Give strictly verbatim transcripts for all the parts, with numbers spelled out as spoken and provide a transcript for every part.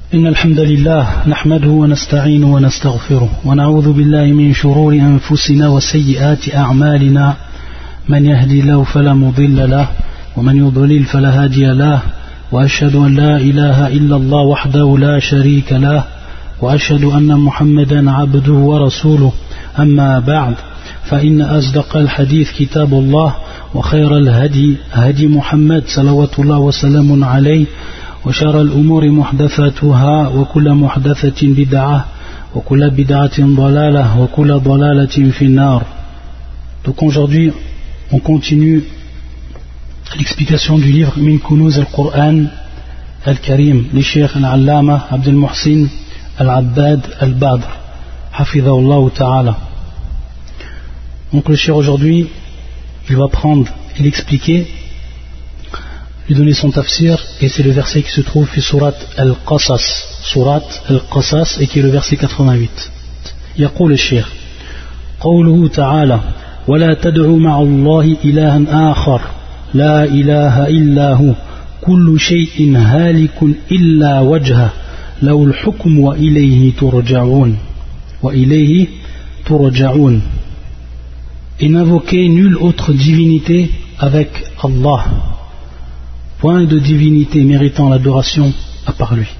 إن الحمد لله نحمده ونستعينه ونستغفره ونعوذ بالله من شرور أنفسنا وسيئات أعمالنا من يهدي الله فلا مضل له ومن يضلل فلا هادي له وأشهد أن لا إله إلا الله وحده لا شريك له وأشهد أن محمدا عبده ورسوله أما بعد فإن أصدق الحديث كتاب الله وخير الهدي هدي محمد صلوات الله وسلام عليه وشر الأمور محدثاتها وكل محدثة بدعة وكل بدعة ضلالة وكل ضلالة في النار. Donc aujourd'hui on continue l'explication du livre Min Kunuz al-Qur'an al-Karim li Cheikh al-Allama Abdel Muhsin al-Abbad al-Badr hafidhahullah ta'ala. Donc le Cheikh aujourd'hui il va prendre et l'expliquer, lui donner son tafsir, et c'est le verset qui se trouve في surat al-Qasas, surat al-Qasas, et qui est le verset quatre-vingt-huit. يقول الشيخ قوله تعالى ولا تدعوا مع الله إلها آخر لا إله إلا هو كل شيء هالك إلا وجهه له الحكم وإليه ترجعون وإليه ترجعون. Et n'invoquez nulle autre divinité avec Allah. Point de divinité méritant l'adoration à part lui.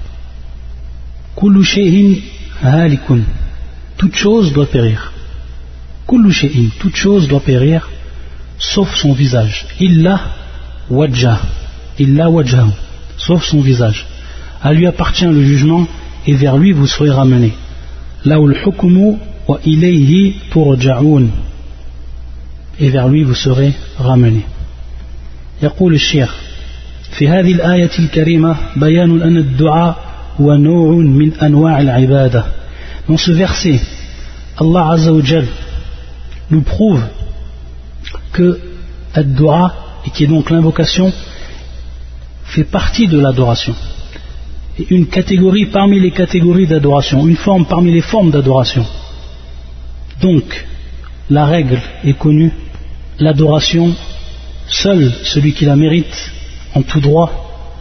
Kullu shay'in halikun. Toute chose doit périr. Kullu shay'in. Toute chose doit périr, sauf son visage. Illa wajjah. Illa wajjahu. Sauf son visage. À lui appartient le jugement et vers lui vous serez ramenés. Lahul hukmu wa ilayhi turja'un. Et vers lui vous serez ramenés. يقول الشيخ في هذه الآية الكريمة بيان أن الدعاء هو نوع من أنواع العبادة. Dans ce verset, Allah Azza wa Jal nous prouve que ad-du'a, et qui est donc l'invocation, fait partie de l'adoration. Et une catégorie parmi les catégories d'adoration, une forme parmi les formes d'adoration. Donc, la règle est connue, l'adoration, seul celui qui la mérite en tout droit,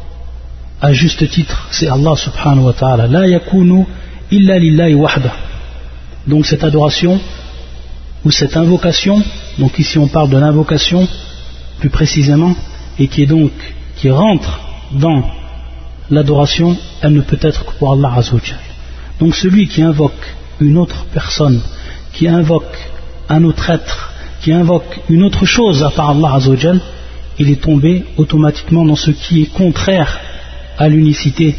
à juste titre, c'est Allah subhanahu wa ta'ala. La yakunu illa lillahi wahda. Donc cette adoration ou cette invocation, donc ici on parle de l'invocation plus précisément, et qui est donc qui rentre dans l'adoration, elle ne peut être que pour Allah azza wa jalla. Donc celui qui invoque une autre personne, qui invoque un autre être, qui invoque une autre chose à part Allah azza wa jalla, il est tombé automatiquement dans ce qui est contraire à l'unicité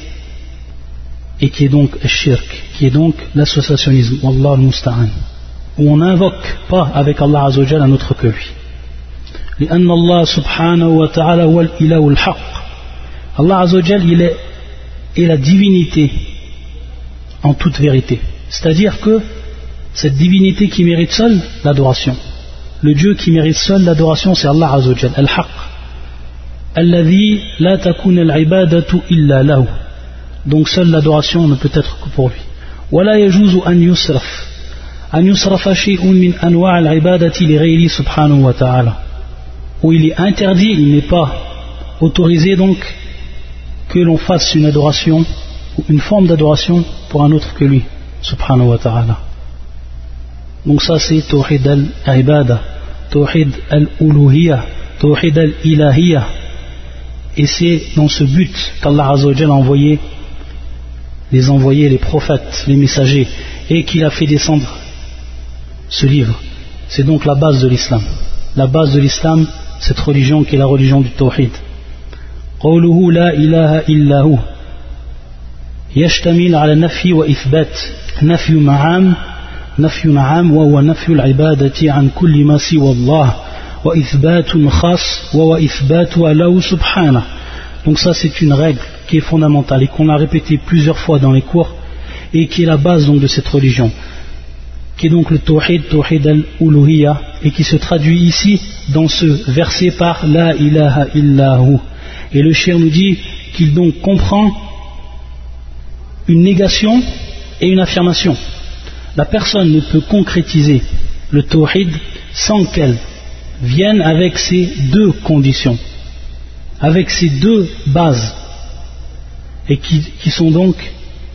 et qui est donc shirk, qui est donc l'associationnisme, wallah al-musta'an, où on n'invoque pas avec Allah azza wa jalla un autre que lui. لأن الله سبحانه وتعالى هو الإله الحق. Allah azza wa jalla il est, est la divinité en toute vérité, c'est-à-dire que cette divinité qui mérite seule l'adoration, le Dieu qui mérite seul l'adoration, c'est Allah azza wa jalla, al-haq, alladhi la takun al-ibadatu illa lahu. Donc seule l'adoration ne peut être que pour lui. Wala yajuzu an yusraf an yusrafa shay'un min anwa' al-ibadati li ghayri subhanahu wa ta'ala. Où il est interdit, il n'est pas autorisé donc que l'on fasse une adoration ou une forme d'adoration pour un autre que lui, subhanahu wa ta'ala. Donc ça c'est Tawhid al-Ibada, Tawhid al-Uluhiyya, Tawhid al-Ilahiyya. Et c'est dans ce but qu'Allah Azza wa Jalla a envoyé les envoyés, les prophètes, les messagers, et qu'il a fait descendre ce livre. C'est donc la base de l'islam. La base de l'islam, cette religion qui est la religion du Tawhid. قوله لا إله إلا هو يشتمل على نفي وإثبات. نفي معام نفي عام وهو نفي العبادة عن كل ما سوى الله وإثبات خاص وهو إثباتها له سبحانه. Donc ça c'est une règle qui est fondamentale et qu'on a répété plusieurs fois dans les cours et qui est la base donc de cette religion, qui est donc le Tawhid, Tawhid al-Uluhiyya, et qui se traduit ici dans ce verset par La ilaha illahu. Et le cheikh nous dit qu'il donc comprend une négation et une affirmation. La personne ne peut concrétiser le Tawhid sans qu'elle vienne avec ces deux conditions, avec ces deux bases, et qui, qui sont donc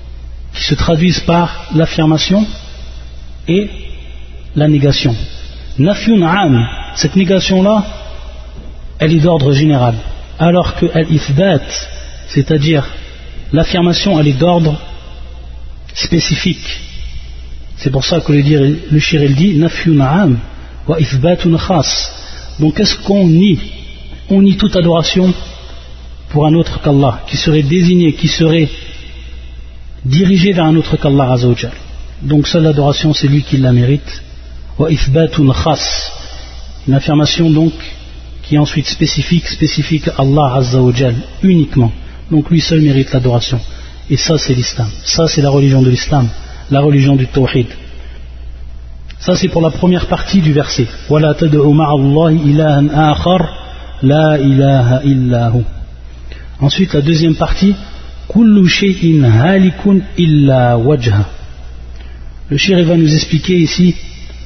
qui se traduisent par l'affirmation et la négation. Nafyun am, cette négation-là, elle est d'ordre général, alors que al-ithbat, c'est-à-dire l'affirmation, elle est d'ordre spécifique. C'est pour ça que le, dire, le shir il dit Nafyun am wa ithbatun khas. Donc qu'est-ce qu'on nie? On nie toute adoration pour un autre qu'Allah, qui serait désigné, qui serait dirigé vers un autre qu'Allah Azza wa Jal. Donc seule l'adoration, c'est lui qui la mérite. Wa ithbatun khas, une affirmation donc qui est ensuite spécifique, spécifique à Allah Azza wa Jal, uniquement. Donc lui seul mérite l'adoration. Et ça c'est l'islam, ça c'est la religion de l'islam, la religion du tawhid. Ça c'est pour la première partie du verset. وَلَا تَدْعُ مَعَ اللَّهِ إِلَهًا آخَرَ لَا إِلَهَ إِلَّا هُ. Ensuite la deuxième partie, كُلُّ شَيْءٍ هَالِكٌ إِلَّا وَجْهَهُ. Le shir va nous expliquer ici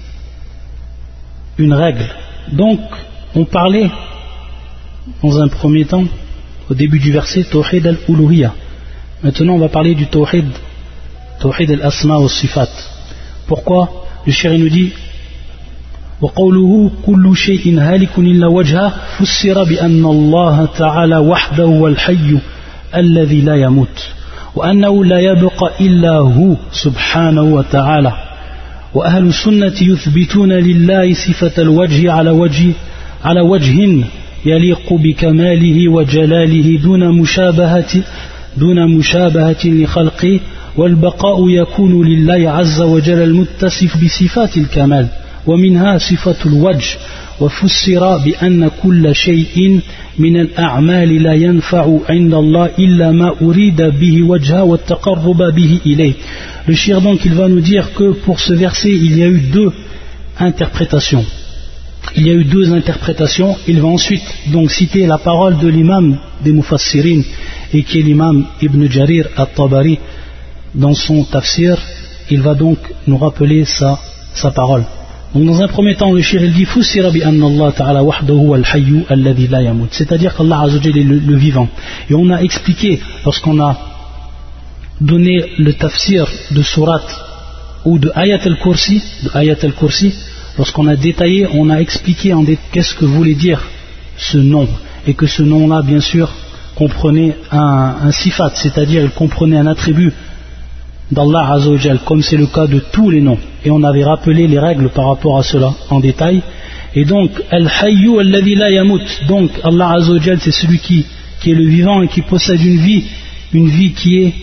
une règle. Donc on parlait dans un premier temps, au début du verset, Tawhid al-Uluhiyya. Maintenant on va parler du Tawhid, Tawhid al-Asma wa Sifat. Pourquoi? Le shir nous dit وقوله كل شيء هالك إلا وجهه فسر بأن الله تعالى وحده هو الحي الذي لا يموت وأنه لا يبقى إلا هو سبحانه وتعالى. وأهل السنة يثبتون لله صفة الوجه على وجه على وجه يليق بكماله وجلاله دون مشابهة دون مشابهة لخلقه، والبقاء يكون لله عز وجل المتصف بصفات الكمال، ومنها صفة الوجه. وفسر بأن كل شيء من الأعمال لا ينفع عند الله إلا ما أريد به وجهه والتقرب به إليه. Le shir donc il va nous dire que pour ce verset il y a eu deux interprétations. Il y a eu deux interprétations. Il va ensuite donc citer la parole de l'imam des Mufassirin et qui est l'imam Ibn Jarir al-Tabari dans son tafsir. Il va donc nous rappeler sa, sa parole. Donc dans un premier temps le shir il dit Fussira bi anna Allah ta'ala wahdahu al-hayyu alladhi la yamut, c'est-à-dire qu'Allah Azza wa Jalla est le, le vivant. Et on a expliqué lorsqu'on a donné le tafsir de surat ou de ayat al-kursi, de ayat al-kursi, lorsqu'on a détaillé, on a expliqué en dé- qu'est-ce que voulait dire ce nom, et que ce nom-là, bien sûr, comprenait un, un sifat, c'est-à-dire il comprenait un attribut d'Allah Azza wa Jal, comme c'est le cas de tous les noms. Et on avait rappelé les règles par rapport à cela en détail. Et donc, Al-Hayyu alladhi la yamut, donc Allah Azza wa Jal, c'est celui qui, qui est le vivant et qui possède une vie, une vie qui est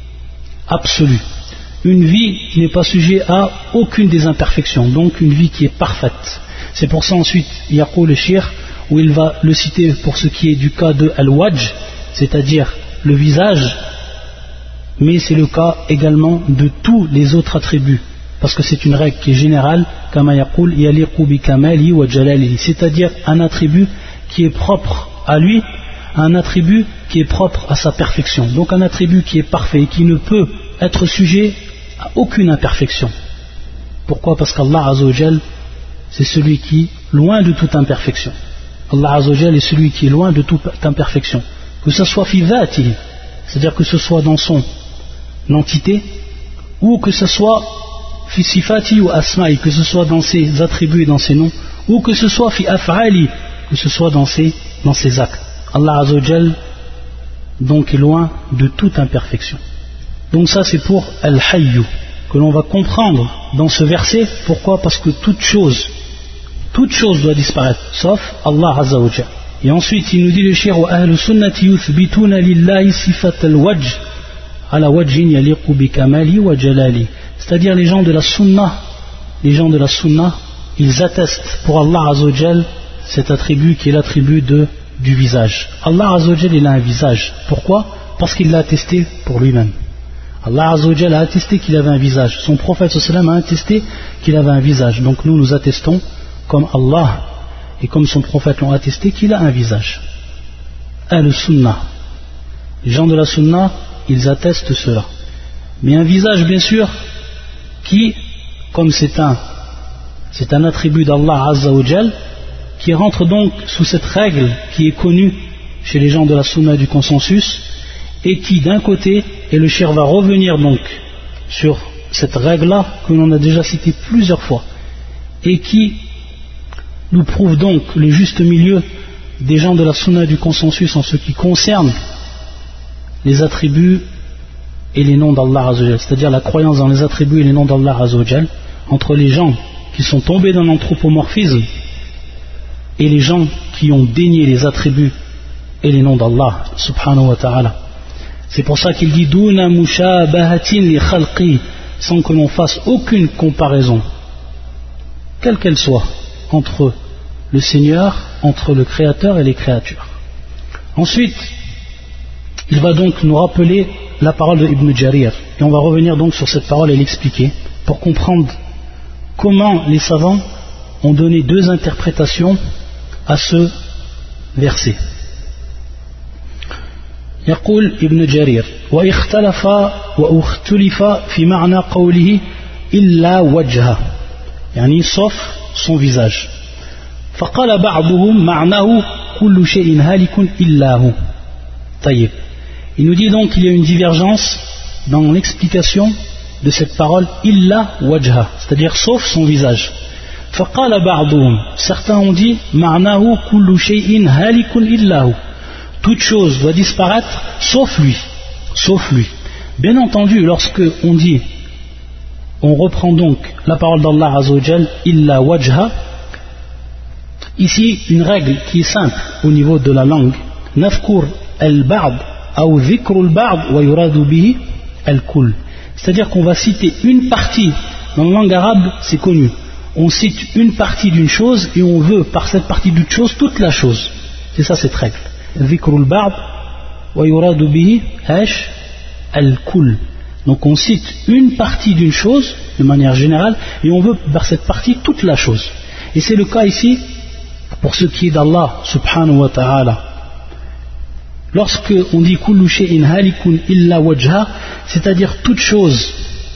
absolue. Une vie qui n'est pas sujet à aucune des imperfections, donc une vie qui est parfaite. C'est pour ça ensuite, Yaqul le shir, où il va le citer pour ce qui est du cas de Al-Wajh, c'est-à-dire le visage, mais c'est le cas également de tous les autres attributs, parce que c'est une règle qui est générale, Kama Yaqul Yaliqu bi kamali wa jalalihi, c'est-à-dire un attribut qui est propre à lui, un attribut qui est propre à sa perfection, donc un attribut qui est parfait, qui ne peut être sujet à aucune imperfection. Pourquoi? Parce qu'Allah Azza wa Jal, c'est celui qui est loin de toute imperfection. Allah Azza wa Jal est celui qui est loin de toute imperfection. Que ce soit fi dhatihi, c'est-à-dire que ce soit dans son entité, ou que ce soit fi sifati ou asma'i, que ce soit dans ses attributs et dans ses noms, ou que ce soit fi af'ali, que ce soit dans ses, dans ses actes. Allah Azza wa Jal donc est loin de toute imperfection. Donc ça c'est pour Al-Hayyu que l'on va comprendre dans ce verset. Pourquoi? Parce que toute chose, toute chose doit disparaître, sauf Allah Azza wa Jal. Et ensuite il nous dit le shir wa ahlu sunnati yuthbituna lillahi sifat al-wajh ala wajhin yaliqu bi kamali wa jalali. C'est-à-dire les gens de la sunna, les gens de la sunna, ils attestent pour Allah Azza wa Jal cet attribut qui est l'attribut de, du visage. Allah Azza wa Jal il a un visage. Pourquoi? Parce qu'il l'a attesté pour lui-même. Allah Azza wa Jal a attesté qu'il avait un visage. Son prophète sallam a attesté qu'il avait un visage. Donc nous nous attestons comme Allah et comme son prophète l'ont attesté qu'il a un visage. Al-Sunnah, les gens de la Sunnah, ils attestent cela. Mais un visage bien sûr qui, comme c'est un c'est un attribut d'Allah Azza wa Jal, qui rentre donc sous cette règle qui est connue chez les gens de la Sunna du consensus, et qui d'un côté, et le shir va revenir donc sur cette règle-là que l'on a déjà citée plusieurs fois et qui nous prouve donc le juste milieu des gens de la sunna et du consensus en ce qui concerne les attributs et les noms d'Allah Azzawajal, c'est-à-dire la croyance dans les attributs et les noms d'Allah Azzawajal, entre les gens qui sont tombés dans l'anthropomorphisme et les gens qui ont dénié les attributs et les noms d'Allah subhanahu wa ta'ala. C'est pour ça qu'il dit Duna mushabahatin li khalqi, sans que l'on fasse aucune comparaison, quelle qu'elle soit, entre le Seigneur, entre le Créateur et les créatures. Ensuite, il va donc nous rappeler la parole de Ibn Jarir, et on va revenir donc sur cette parole et l'expliquer pour comprendre comment les savants ont donné deux interprétations à ce verset. يقول ابن جرير واختلف واختلف في معنى قوله إلا وجهه يعني sauf son visage فقال بعضهم معناه كل شيء هالك إلا هو. طيب, il nous dit donc qu'il y a une divergence dans l'explication de cette parole illa wajha, c'est-à-dire sauf son visage. فقال بعضهم, certains ont dit معناه كل شيء هالك إلا هو, toute chose doit disparaître sauf lui, sauf lui. Bien entendu, lorsque on dit, on reprend donc la parole d'Allah Azzawajal, illa wajha, ici une règle qui est simple au niveau de la langue, nafkur al-ba'd ou dhikr al-ba'd wa yuradu bihi al-kull, c'est-à-dire qu'on va citer une partie, dans la langue arabe c'est connu, on cite une partie d'une chose et on veut par cette partie d'une chose toute la chose, c'est ça cette règle. ذكر البعض ويراد به ايش الكل. Donc on cite une partie d'une chose de manière générale et on veut par cette partie toute la chose, et c'est le cas ici pour ce qui est d'Allah subhanahu wa ta'ala. Lorsque on dit kullu shay'in halikun illa wajha, c'est-à-dire toute chose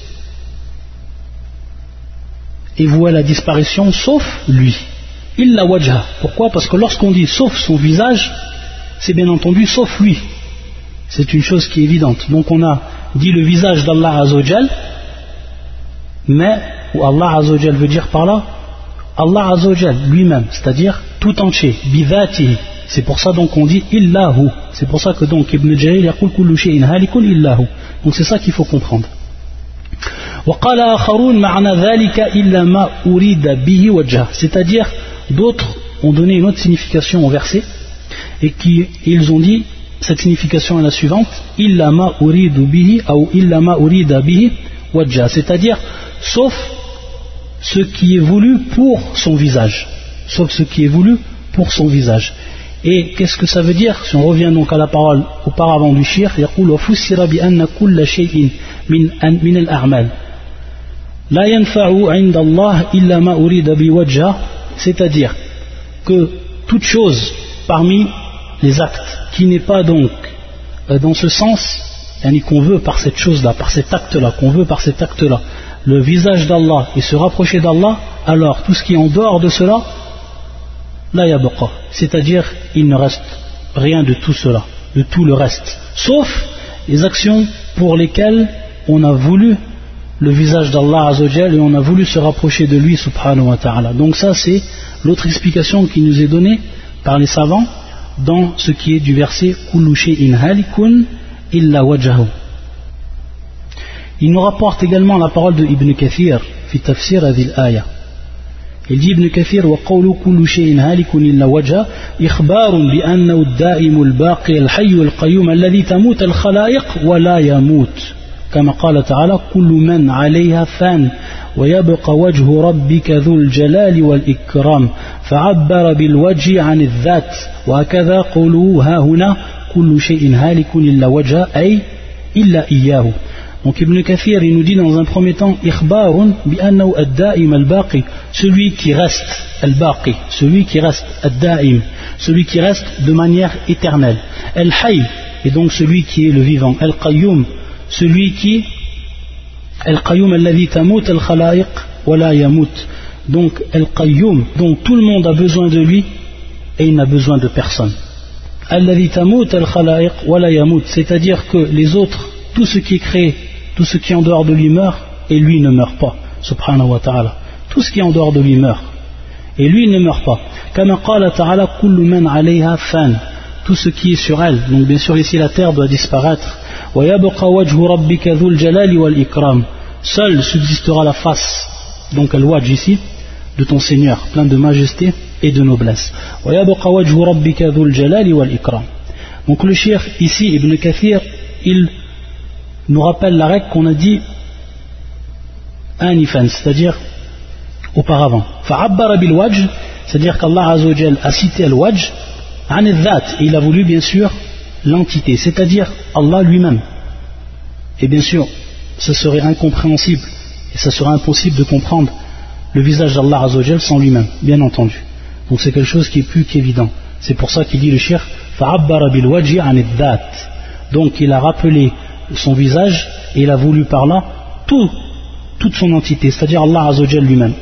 est vouée à la disparition sauf lui, illa wajha. Pourquoi? Parce que lorsqu'on dit sauf son visage, c'est bien entendu sauf lui, c'est une chose qui est évidente. Donc on a dit le visage d'Allah Azzawajal, mais ou Allah Azzawajal veut dire par là Allah Azzawajal lui-même, c'est-à-dire tout entier, bidhatihi. C'est pour ça donc on dit illahu, c'est pour ça que donc Ibn Jarir yaqul kullu shay'in halikun illahu. Donc c'est ça qu'il faut comprendre. وقال آخرون معنى ذلك إلا ما أريد به وجهه, c'est-à-dire d'autres ont donné une autre signification au verset et qui, ils ont dit cette signification est la suivante, illa ma uridu bihi ou illa ma urida bihi wajha, c'est-à-dire sauf ce qui est voulu pour son visage, sauf ce qui est voulu pour son visage. Et qu'est-ce que ça veut dire? Si on revient donc à la parole auparavant du shir, يقول وفسر بأن كل شيء من من الأعمال لا ينفع عند الله إلا ما أريد بوجهه, c'est-à-dire que toute chose parmi les actes qui n'est pas donc euh, dans ce sens, yani qu'on veut par cette chose-là, par cet acte-là, qu'on veut par cet acte-là, le visage d'Allah et se rapprocher d'Allah, alors tout ce qui est en dehors de cela, la yabqa, c'est-à-dire il ne reste rien de tout cela, de tout le reste, sauf les actions pour lesquelles on a voulu le visage d'Allah Azzawajal et on a voulu se rapprocher de lui subhanahu wa ta'ala. Donc ça c'est l'autre explication qui nous est donnée par les savants dans ce qui est du verset kullu shay'in halikun illa wajhahu. Il nous rapporte également la parole de Ibn Kathir fi tafsir hadhihi al-aya. Il dit Ibn Kathir wa qawlu kullu shay'in halikun illa wajha ikhbarun bi annahu ad-da'im al-baqi al-hayy al-qayyum alladhi tamut al-khalaiq wa la yamut. كما قال تعالى كل من عليها فان ويبقى وجه ربك ذو الجلال والإكرام فعبر بالوجه عن الذات وهكذا قوله ها هنا كل شيء هالك إلا وجهه أي إلا إياه. Donc Ibn Kathir il nous dit dans un premier temps إخبار بأنه الدائم الباقي, celui qui reste al-baqi, celui qui reste ad-da'im, celui qui reste de manière éternelle, al-hayy, et donc celui qui est le vivant, al-qayyum, celui qui Al-Qayyum alladhi tamut al-khalaiq wa la yamut. Donc Al-Qayyum, donc tout le monde a besoin de lui et il n'a besoin de personne. Alladhi tamut al-khalaiq wa la yamut, c'est-à-dire que les autres, tout ce qui est créé tout ce qui est en dehors de lui meurt, et lui ne meurt pas, subhanahu wa ta'ala. Tout ce qui est en dehors de lui meurt, et lui ne meurt pas. Kama qala ta'ala kullu man 'alayha fan. Tout ce qui est sur elle, donc bien sûr ici la terre doit disparaître. Wa yabqa wajhu rabbika dhul jalali wal ikram. Seule subsistera la face, donc al-wajh ici, de ton Seigneur, plein de majesté et de noblesse. Wa yabqa wajhu rabbika dhul jalali wal ikram. Donc le cheikh ici, Ibn Kathir, il nous rappelle la règle qu'on a dit anifan, c'est-à-dire auparavant. Fa'abbara bil wajh, c'est-à-dire qu'Allah Azza wa Jal a cité al-wajh an al-dhat, et il a voulu bien sûr l'entité, c'est-à-dire Allah lui-même. Et bien sûr, ce serait incompréhensible et ça serait impossible de comprendre le visage d'Allah Azza wa Jal sans lui-même, bien entendu. Donc c'est quelque chose qui est plus qu'évident. C'est pour ça qu'il dit le cheikh fa'abbara bil wajhi an al-dhat. Donc il a rappelé son visage et il a voulu par là tout, toute son entité, c'est-à-dire Allah Azza wa Jal lui-même.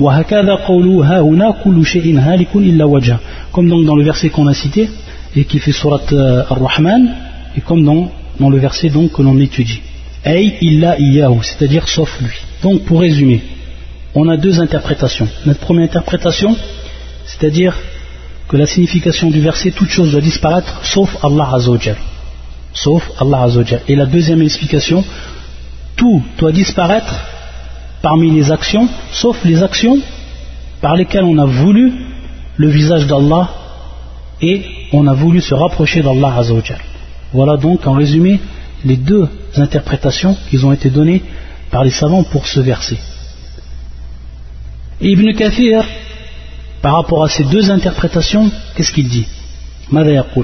Comme donc dans le verset qu'on a cité et qui fait surat Ar-Rahman, et comme dans, dans le verset donc que l'on étudie. Ay illa iyyahu, c'est-à-dire sauf lui. Donc pour résumer, on a deux interprétations. Notre première interprétation, c'est-à-dire que la signification du verset, toute chose doit disparaître sauf Allah Azza wa Jal. Sauf Allah Azza wa Jal. Et la deuxième explication, tout doit disparaître parmi les actions, sauf les actions par lesquelles on a voulu le visage d'Allah et on a voulu se rapprocher d'Allah Azza wa Jal. Voilà donc en résumé les deux interprétations qui ont été données par les savants pour ce verset. Et Ibn Kathir, par rapport à ces deux interprétations, qu'est-ce qu'il dit? ماذا يقول؟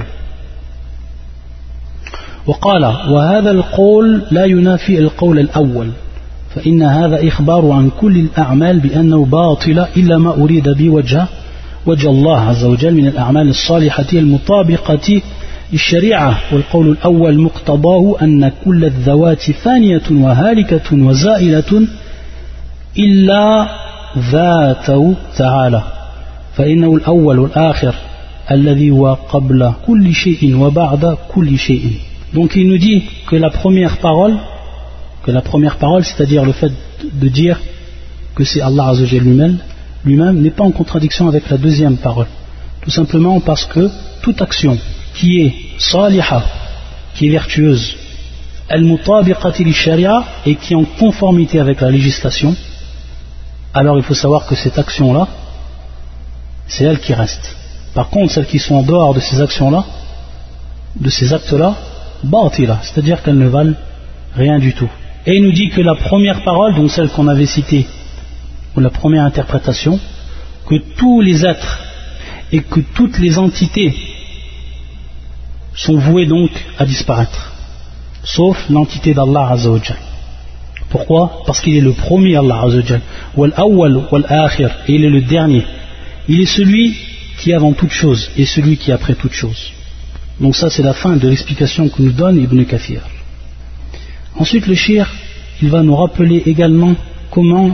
وقال وهذا القول لا ينافي القول الأول فإن هذا إخبار عن كل الأعمال بأنه باطل إلا ما أريد بوجه وجه الله عز وجل من الأعمال الصالحة المطابقة للشريعة والقول الأول مقتضاه أن كل الذوات فانية وهالكة وزائلة إلا ذاته تعالى فإنه الأول والآخر الذي هو قبل كل شيء وبعد كل شيء. Donc il nous dit que la première parole, que la première parole, c'est-à-dire le fait de dire que c'est Allah Azza wa Jalla lui-même, lui-même n'est pas en contradiction avec la deuxième parole. Tout simplement parce que toute action qui est saliha, qui est vertueuse, al-mutabiqati li-sharia, et qui est en conformité avec la législation, alors il faut savoir que cette action-là, c'est elle qui reste. Par contre, celles qui sont en dehors de ces actions-là, de ces actes-là, batila, c'est-à-dire qu'elles ne valent rien du tout. Et il nous dit que la première parole, donc celle qu'on avait citée, ou la première interprétation, que tous les êtres et que toutes les entités sont voués donc à disparaître, sauf l'entité d'Allah Azza wa Jal. Pourquoi? Parce qu'il est le premier, Allah Azza wa Jal, wal awwal wal akhir, et il est le dernier. Il est celui qui est avant toute chose et celui qui est après toute chose. Donc ça c'est la fin de l'explication que nous donne Ibn Kathir. Ensuite le cheikh, il va nous rappeler également comment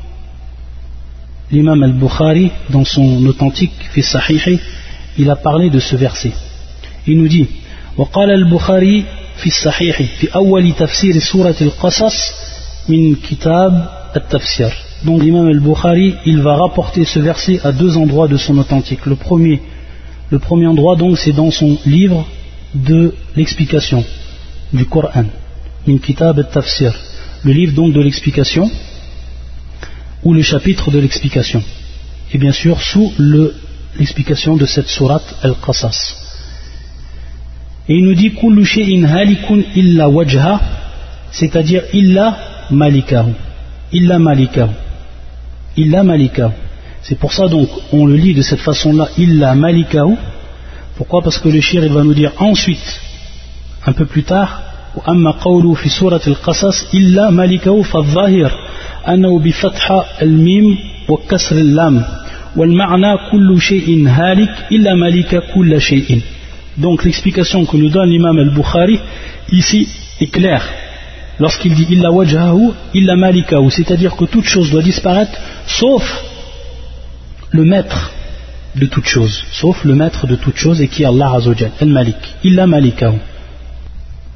l'imam al-Bukhari, dans son authentique fi sahihi, il a parlé de ce verset. Il nous dit وقال البخاري في الصحيح في أول تفسير سورة القصص من كتاب التفسير. Donc l'imam al-Bukhari, il va rapporter ce verset à deux endroits de son authentique. Le premier, le premier endroit donc c'est dans son livre de l'explication du Coran, min kitab al-tafsir, le livre donc de l'explication ou le chapitre de l'explication, et bien sûr sous le, l'explication de cette sourate al-Qasas. Et il nous dit kullu shay'in halikun illa wajha, c'est-à-dire illa malikahu, illa malikahu, illa malikahu. C'est pour ça donc on le lit de cette façon-là, illa malikahu. Pourquoi? Parce que le shir il va nous dire ensuite, un peu plus tard, wa amma qawlu fi surat al-Qasas illa malikahu fa-dhahir annahu bi fatha al-mim wa kasr al-lam wal ma'na kullu shay'in halik illa malika kull shay'in. Donc l'explication que nous donne l'imam al-Bukhari ici est claire lorsqu'il dit illa wajhahu illa malikahu, c'est-à-dire que toute chose doit disparaître sauf le maître de toute chose, sauf le maître de toute chose et qui est Allah Azza wa Jal, al-Malik, illa malikahu.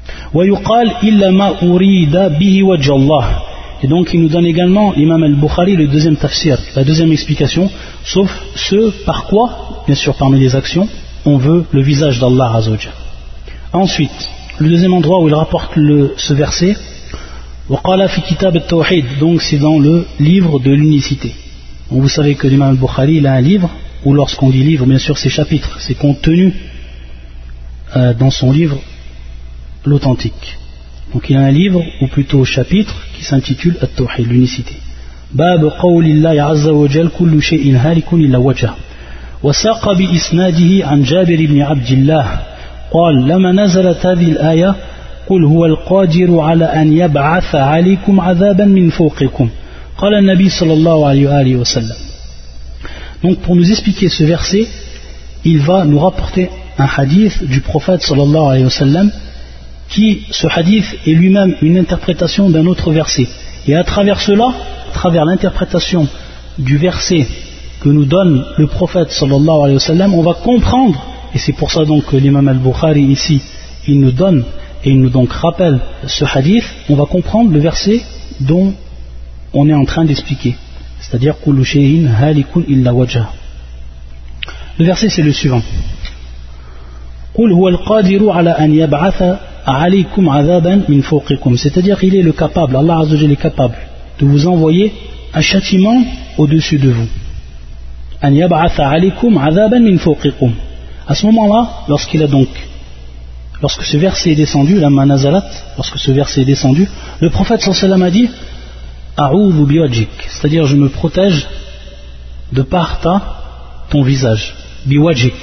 ويقال إلا ما أريد به وجه الله. Et donc il nous donne également l'imam al-Bukhari le deuxième tafsir, la deuxième explication, sauf ce par quoi, bien sûr parmi les actions, on veut le visage d'Allah Azza wa Jalla. Ensuite, le deuxième endroit où il rapporte le, ce verset, وقال في كتاب التوحيد, donc c'est dans le livre de l'unicité. Donc vous savez que l'imam al-Bukhari il a un livre, ou lorsqu'on dit livre, bien sûr c'est chapitre, c'est contenu euh, dans son livre l'authentique. Donc il a un livre, ou plutôt chapitre, qui s'intitule At-Tawhid, l'unicité. Bab qawlillahi azza wa jal kullu shay'in halikun illa wajha. وساق بإسناده عن جابر بن عبد الله قال لما نزلت هذه الآية قل هو القادر على أن يبعث عليكم عذابا من فوقكم قال النبي صلى الله عليه وآله وسلم. Donc pour nous expliquer ce verset, il va nous rapporter un hadith du prophète sallallahu alayhi wa sallam, qui, ce hadith est lui-même une interprétation d'un autre verset. Et à travers cela, à travers l'interprétation du verset que nous donne le prophète sallallahu alayhi wa sallam, on va comprendre, et c'est pour ça donc que l'imam al-Bukhari ici, il nous donne et il nous donc rappelle ce hadith, on va comprendre le verset dont on est en train d'expliquer, c'est-à-dire kullu shay'in halikun illa wajha. Le verset c'est le suivant. Qul huwa al-qadiru ala an yab'atha alaykum adhaban min fawqikum, c'est-à-dire il est le capable, Allah Azza wa Jalla est capable de vous envoyer un châtiment au-dessus de vous. An yab'atha alaykum adhaban min fawqikum. À ce moment-là, lorsqu'il a donc lorsque ce verset est descendu, la manazalat, lorsque ce verset est descendu, le prophète sallallahu alayhi wa sallam a dit a'udhu biwajhik, c'est-à-dire je me protège de par ta ton visage, biwajhik.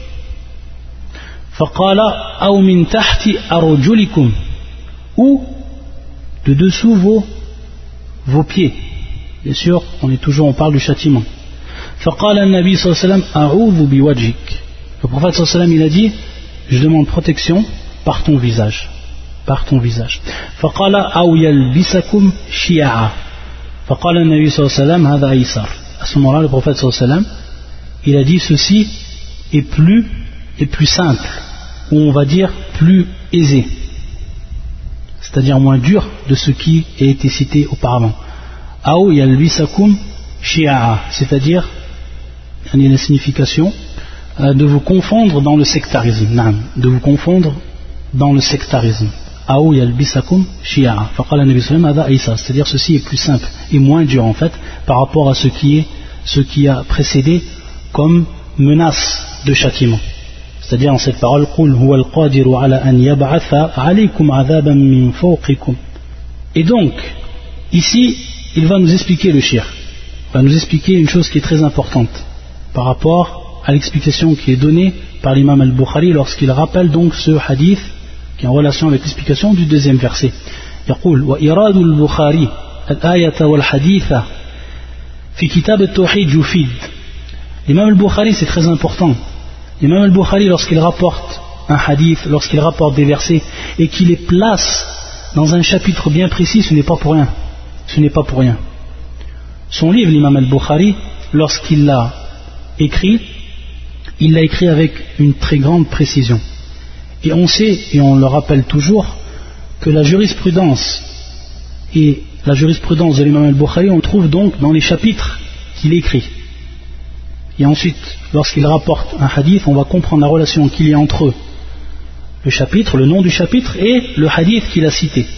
Faqala aw min tahti arjulikum, ou de dessous vos vos pieds. Bien sûr, on est toujours on parle du châtiment. Faqala an-nabi sallallahu alayhi wa sallam a'udhu biwajhik. Le prophète sallallahu alayhi wa sallam il a dit je demande protection par ton visage, par ton visage. Faqala aw yalbisakum shi'a. Faqala an-nabi sallallahu alayhi wa sallam hadha aysar. À ce moment-là, le prophète sallallahu alayhi wa sallam il a dit ceci est plus est plus simple, ou on va dire plus aisé, c'est-à-dire moins dur de ce qui a été cité auparavant. Aw yalbisakum shi'a, c'est-à-dire la signification de vous confondre dans le sectarisme, de vous confondre dans le sectarisme. Aou yalbisakum shi'a. Faqala nabi sallallahu alayhi wa sallam, c'est-à-dire ceci est plus simple et moins dur en fait par rapport à ce qui est ce qui a précédé comme menace de châtiment. C'est-à-dire en cette parole qul huwa al-qadiru ala an yab'atha alaykum adhaban min fawqikum. Et donc ici il va nous expliquer le shirk, va nous expliquer une chose qui est très importante par rapport à l'explication qui est donnée par l'imam al-Bukhari lorsqu'il rappelle donc ce hadith qui est en relation avec l'explication du deuxième verset. يقول وإراد البخاري الآية والحديث في كتاب التوحيد يفيد. L'imam al-Bukhari c'est très important. L'imam al-Bukhari lorsqu'il rapporte un hadith, lorsqu'il rapporte des versets et qu'il les place dans un chapitre bien précis, ce n'est pas pour rien. Ce n'est pas pour rien. Son livre, l'imam al-Bukhari, lorsqu'il l'a écrit, il l'a écrit avec une très grande précision. Et on sait, et on le rappelle toujours, que la jurisprudence et la jurisprudence de l'imam al-Bukhari, on trouve donc dans les chapitres qu'il écrit. Et ensuite, lorsqu'il rapporte un hadith, on va comprendre la relation qu'il y a entre le chapitre, le nom du chapitre, et le hadith qu'il a cité.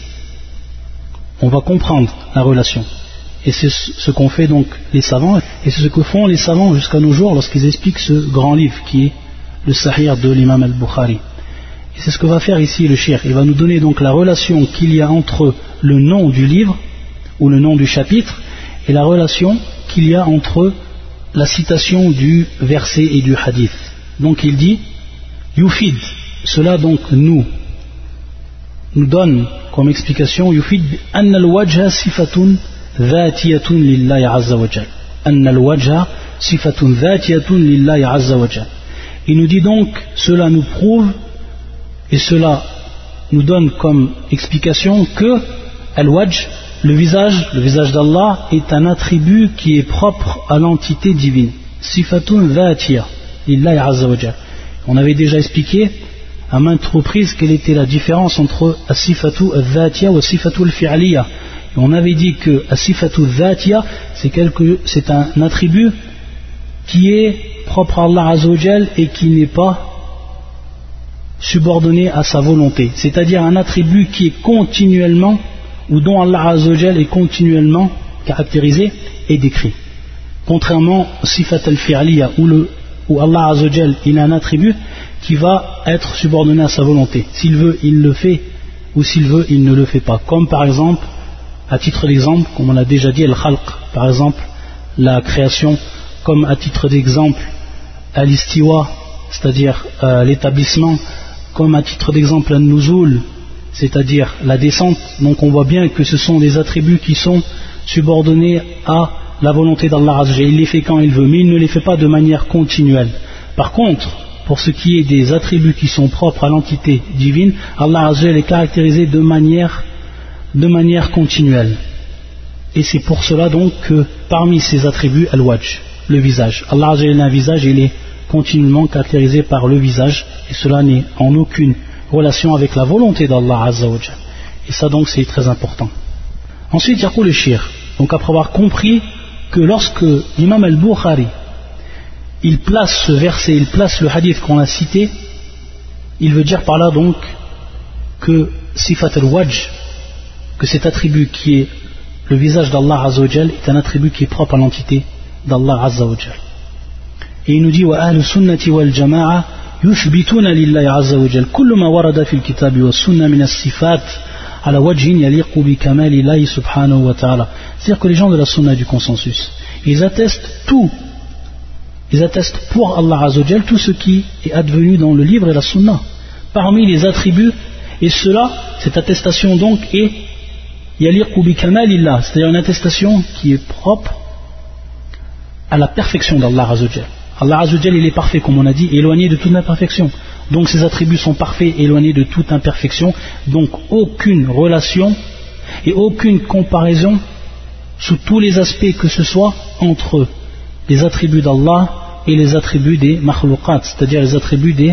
On va comprendre la relation. Et c'est ce qu'ont fait donc les savants, et c'est ce que font les savants jusqu'à nos jours lorsqu'ils expliquent ce grand livre qui est le Sahih de l'imam al-Bukhari. Et c'est ce que va faire ici le cheikh. Il va nous donner donc la relation qu'il y a entre le nom du livre ou le nom du chapitre et la relation qu'il y a entre la citation du verset et du hadith. Donc il dit Yufid, cela donc nous nous donne comme explication Yufid anna al-wajha sifatun ذاتية لله عز وجل أن الوجه صفة ذاتية لله عز وجل. Il nous dit donc, cela nous prouve et cela nous donne comme explication que al-wajh, le visage, le visage d'Allah est un attribut qui est propre à l'entité divine. Sifatun dhatiya lillahi azza wa jalla. On avait déjà expliqué à maintes reprises quelle était la différence entre as-sifatu al-dhatiya wa as-sifatu al-fi'liya. Et on avait dit que as-sifatu al-dhatiya, c'est, quelque, c'est un attribut qui est propre à Allah Azza wa Jal et qui n'est pas subordonné à sa volonté. C'est-à-dire un attribut qui est continuellement, ou dont Allah Azza wa Jal est continuellement caractérisé et décrit. Contrairement au sifat al-fi'liya, où, le, où Allah Azza wa Jal, il a un attribut qui va être subordonné à sa volonté. S'il veut, il le fait, ou s'il veut, il ne le fait pas. Comme par exemple, à titre d'exemple, comme on l'a déjà dit, al-khalq, par exemple, la création, comme à titre d'exemple, al-istiwa, c'est-à-dire euh, l'établissement, comme à titre d'exemple, al-nuzul, c'est-à-dire la descente. Donc on voit bien que ce sont des attributs qui sont subordonnés à la volonté d'Allah Azza wa Jalla. Il les fait quand il veut, mais il ne les fait pas de manière continuelle. Par contre, pour ce qui est des attributs qui sont propres à l'entité divine, Allah Azza wa Jalla est caractérisé de manière, de manière continuelle. Et c'est pour cela donc que parmi ces attributs, al-wajh, le visage. Allah Azza wa Jalla a un visage, il est continuellement caractérisé par le visage, et cela n'est en aucune relation avec la volonté d'Allah Azza wa Jalla. Et ça donc c'est très important. Ensuite, yaqul le shir. Donc après avoir compris que lorsque l'imam al-Bukhari il place ce verset, il place le hadith qu'on a cité, il veut dire par là donc que sifat al-wajh, que cet attribut qui est le visage d'Allah Azza wa Jal est un attribut qui est propre à l'entité d'Allah Azza wa Jal. Et il nous dit wa ahlu sunnati wal jama'a yuthbituna lillahi Azza wa Jal kullu ma warada fil kitabi was sunnah min as-sifat ala wajhin yaliqu bi kamali Allahi subhanahu wa ta'ala. C'est-à-dire que les gens de la sunna du consensus, ils attestent tout, ils attestent pour Allah Azza wa Jal tout ce qui est advenu dans le livre et la sunna parmi les attributs, et cela, cette attestation donc est yaliqu bi kamalillah, c'est-à-dire une attestation qui est propre à la perfection d'Allah Azza wa Jal. Allah Azza wa Jal, il est parfait, comme on a dit, éloigné de toute imperfection. Donc ses attributs sont parfaits, éloignés de toute imperfection. Donc aucune relation et aucune comparaison sous tous les aspects que ce soit entre les attributs d'Allah et les attributs des makhlouqat, c'est-à-dire les attributs des,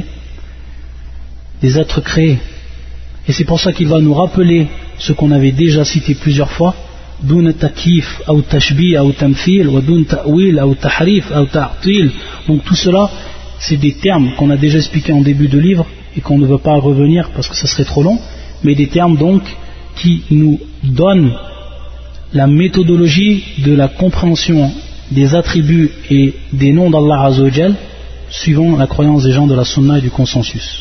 des êtres créés. Et c'est pour ça qu'il va nous rappeler ce qu'on avait déjà cité plusieurs fois: دون تكييف أو تشبيه أو تمثيل ودون تأويل أو تحريف أو تعطيل. Donc tout cela, c'est des termes qu'on a déjà expliqués en début de livre et qu'on ne veut pas revenir parce que ça serait trop long, mais des termes donc qui nous donnent la méthodologie de la compréhension des attributs et des noms d'Allah Azza wa Jal suivant la croyance des gens de la sunna et du consensus.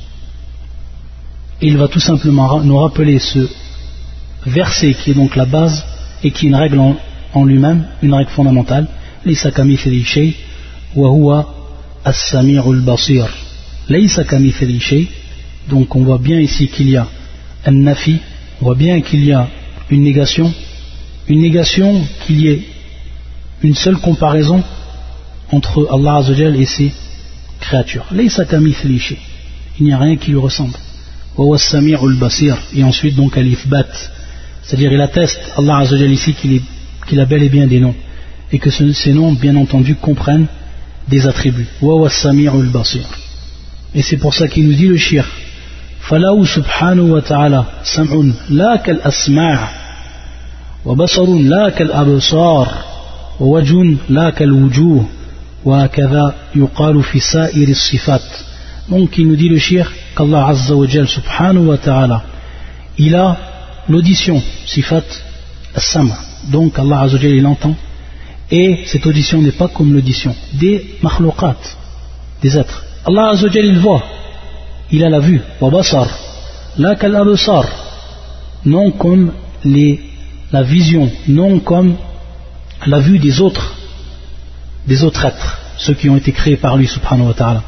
Et il va tout simplement nous rappeler ce verset qui est donc la base et qui est une règle en, en lui-même, une règle fondamentale: Laysa kamithlihi shay wa huwa as-sami'ul basir. Laysa kamithlihi shay. Donc on voit bien ici qu'il y a un nafi, on voit bien qu'il y a une négation, une négation qu'il y ait une seule comparaison entre Allah Azza wa Jal et ses créatures. Laysa kamithlihi shay. Il n'y a rien qui lui ressemble. Wa huwa as-sami'ul basir. Et ensuite donc al-ithbat. C'est-à-dire il atteste Allah Azza wa Jal ici qu'il, est, qu'il a bel et bien des noms, et que ce, ces noms bien entendu comprennent des attributs. Wa huwa as-sami'ul basir. Et c'est pour ça qu'il nous dit le shir: Falahu subhanahu wa ta'ala sam'un la kal asma' wa basarun la kal absar wa wajhun la kal wujuh wa hakadha yuqalu fi sa'ir as-sifat. Donc il nous dit le shir qu'Allah Azza wa Jal subhanahu wa ta'ala, il a l'audition, sifat as-sam', donc Allah Azza wa Jal il entend, et cette audition n'est pas comme l'audition des makhlouqat, des êtres. Allah Azza wa Jal il voit, il a la vue, wa basar la kal absar, non comme les, la vision, non comme la vue des autres, des autres êtres, ceux qui ont été créés par lui subhanahu wa ta'ala.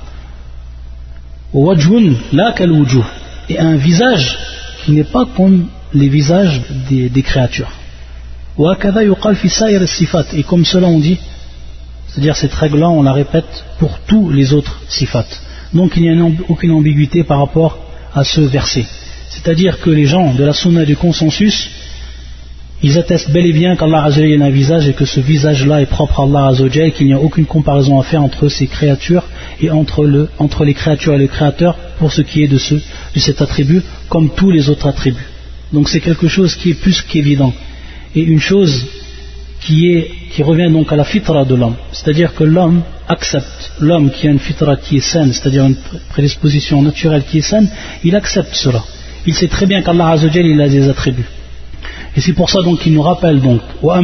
Wa wajhun la kal wujuh, et un visage qui n'est pas comme les visages des, des créatures. Et comme cela on dit, c'est-à-dire cette règle-là on la répète pour tous les autres sifat. Donc il n'y a aucune ambiguïté par rapport à ce verset. C'est-à-dire que les gens de la sunna et du consensus, ils attestent bel et bien qu'Allah Azza wa Jalla a un visage et que ce visage-là est propre à Allah Azza wa Jalla, et qu'il n'y a aucune comparaison à faire entre ces créatures et entre, le, entre les créatures et le Créateur pour ce qui est de, ce, de cet attribut, comme tous les autres attributs. Donc c'est quelque chose qui est plus qu'évident, et une chose qui, est, qui revient donc à la fitra de l'homme, c'est-à-dire que l'homme accepte, l'homme qui a une fitra qui est saine, c'est-à-dire une prédisposition naturelle qui est saine, il accepte cela. Il sait très bien qu'Allah Azza wa Jalla, il a des attributs. Et c'est pour ça donc qu'il nous rappelle donc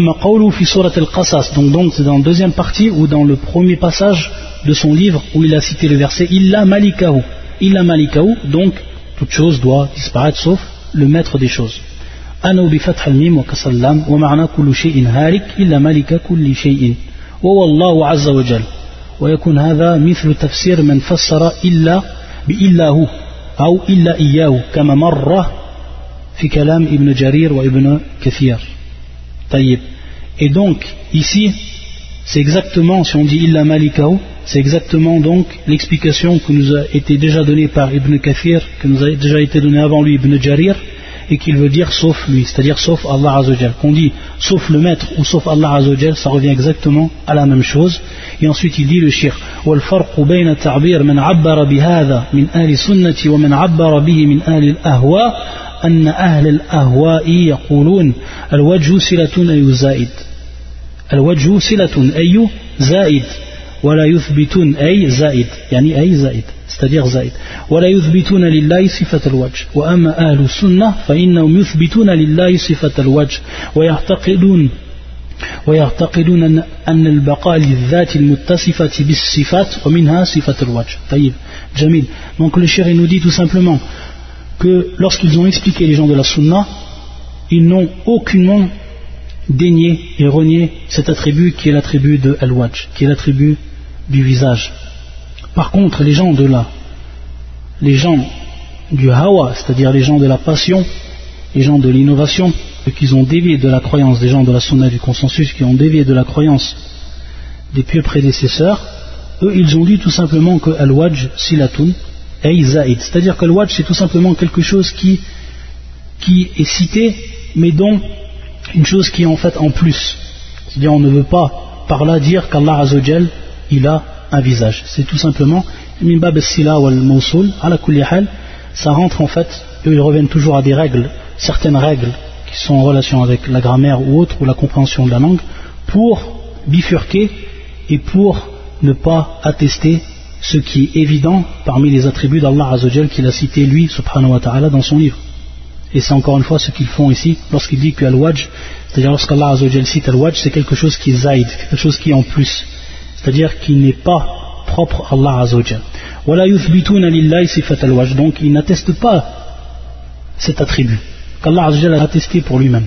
donc donc c'est dans la deuxième partie ou dans le premier passage de son livre où il a cité le verset illa malikahu, illa malikahu, donc toute chose doit disparaître sauf le maître des choses. Ana bi fath al-mim wa kasr al-lam wa ma'na kullu shay'in halik illa malika kulli shay'in wa wallahu azza wa jalla wa yakun hadha mithlu tafsir man fassara illa bi illahu ou illa iyyahu kama marra fi kalam ibn Jarir wa ibn Kathir. Tayyib. Et donc ici c'est exactement, si on dit illa malikahu, c'est exactement donc l'explication que nous a été déjà donnée par Ibn Kathir, que nous a déjà été donnée avant lui Ibn Jarir, et qu'il veut dire sauf lui, c'est-à-dire sauf Allah Azza wa Jal. Qu'on dit sauf le maître ou sauf Allah Azza wa Jal, ça revient exactement à la même chose. Et ensuite il dit le shir wal farq bayna ta'bir man 'abbara bihadha min ahli sunnati wa man 'abbara bihi min ahli al-ahwa أن أهل الأهواء يقولون الوجه صلة أي زائد الوجه صلة أي زائد ولا يثبتون أي زائد يعني أي زائد c'est-à-dire زائد ولا يثبتون لله صفة الوجه وأما أهل السنة فإنهم يثبتون لله صفة الوجه ويعتقدون ويعتقدون أن البقاء للذات المتصفة بالصفات ومنها صفة الوجه. طيب جميل. Donc le chéri nous dit tout simplement que lorsqu'ils ont expliqué les gens de la sunna, ils n'ont aucunement dénié et renié cet attribut qui est l'attribut de al-wajh, qui est l'attribut du visage. Par contre, les gens de la, les gens du hawa, c'est-à-dire les gens de la passion, les gens de l'innovation, ceux qui ont dévié de la croyance des gens de la sunna du consensus, qui ont dévié de la croyance des pieux prédécesseurs, eux ils ont dit tout simplement que al-wajh silatun c'est-à-dire que le wajh c'est tout simplement quelque chose qui, qui est cité mais dont une chose qui est en fait en plus, c'est-à-dire on ne veut pas par là dire qu'Allah Azza wa Jal il a un visage, c'est tout simplement min bab as-sila wal mawsul ala kulli hal, ça rentre en fait, eux ils reviennent toujours à des règles, certaines règles qui sont en relation avec la grammaire ou autre ou la compréhension de la langue pour bifurquer et pour ne pas attester ce qui est évident parmi les attributs d'Allah Azza wa Jal qu'il a cité lui subhanahu wa ta'ala dans son livre. Et c'est encore une fois ce qu'ils font ici lorsqu'il dit que al-wajh, c'est-à-dire lorsqu'Allah Azza wa Jal cite al-wajh, c'est quelque chose qui est zaïd, quelque chose qui est en plus, c'est-à-dire qui n'est pas propre à Allah Azza wa Jal. Wala yuthbituna lillahi sifat al-wajh, donc ils n'attestent pas cet attribut qu'Allah Azza wa Jal a attesté pour lui-même.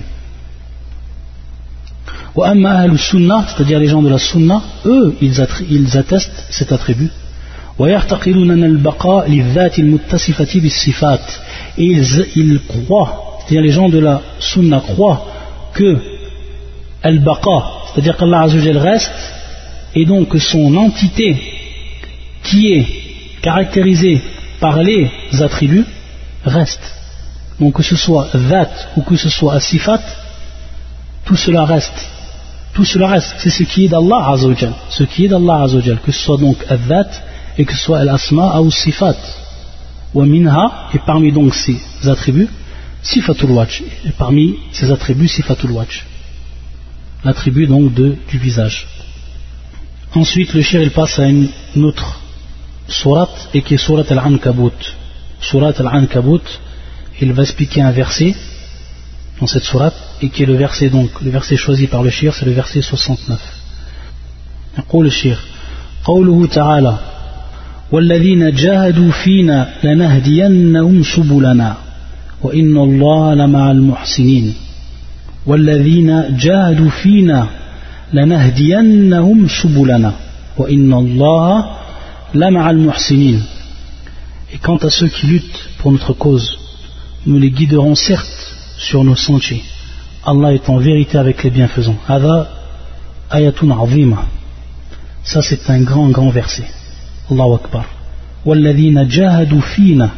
Wa amma ahlu sunnah, c'est-à-dire les gens de la sunna, eux ils attestent cet attribut. ويعتقدون أن البقاء للذات المتصفة بالصفات, et ils, ils croient, c'est-à-dire les gens de la sunna croient que al-baqa, c'est-à-dire qu'Allah Azza wa Jal reste, et donc que son entité qui est caractérisée par les attributs reste. Donc que ce soit dhat ou que ce soit as-sifat, tout cela reste. Tout cela reste, c'est ce qui est d'Allah Azza wa Jal, ce qui est d'Allah Azza wa Jal, que ce soit donc al-dhat et que ce soit al-asma ou sifat wa minha, et parmi donc ces attributs sifatul wajh, et parmi ces attributs sifatul wajh, l'attribut donc de, du visage. Ensuite le shir il passe à une, une autre sourate, et qui est sourate al-Ankabut. Sourate al-Ankabut, il va expliquer un verset dans cette sourate, et qui est le verset donc le verset choisi par le shir, c'est le verset soixante-neuf. يقول الشيخ قوله تعالى والذين جاهدوا فينا لنهدينهم سبلنا وإن الله لمع المحسنين والذين جاهدوا فينا لنهدينهم سبلنا وإن الله لمع المحسنين. Et quant à ceux qui luttent pour notre cause, nous les guiderons certes sur nos sentiers. Allah est en vérité avec les bienfaisants. Hada ayatun azima. Ça c'est un grand grand verset. Allahu Akbar. وَالَّذِينَ جَاهَدُوا فِينَا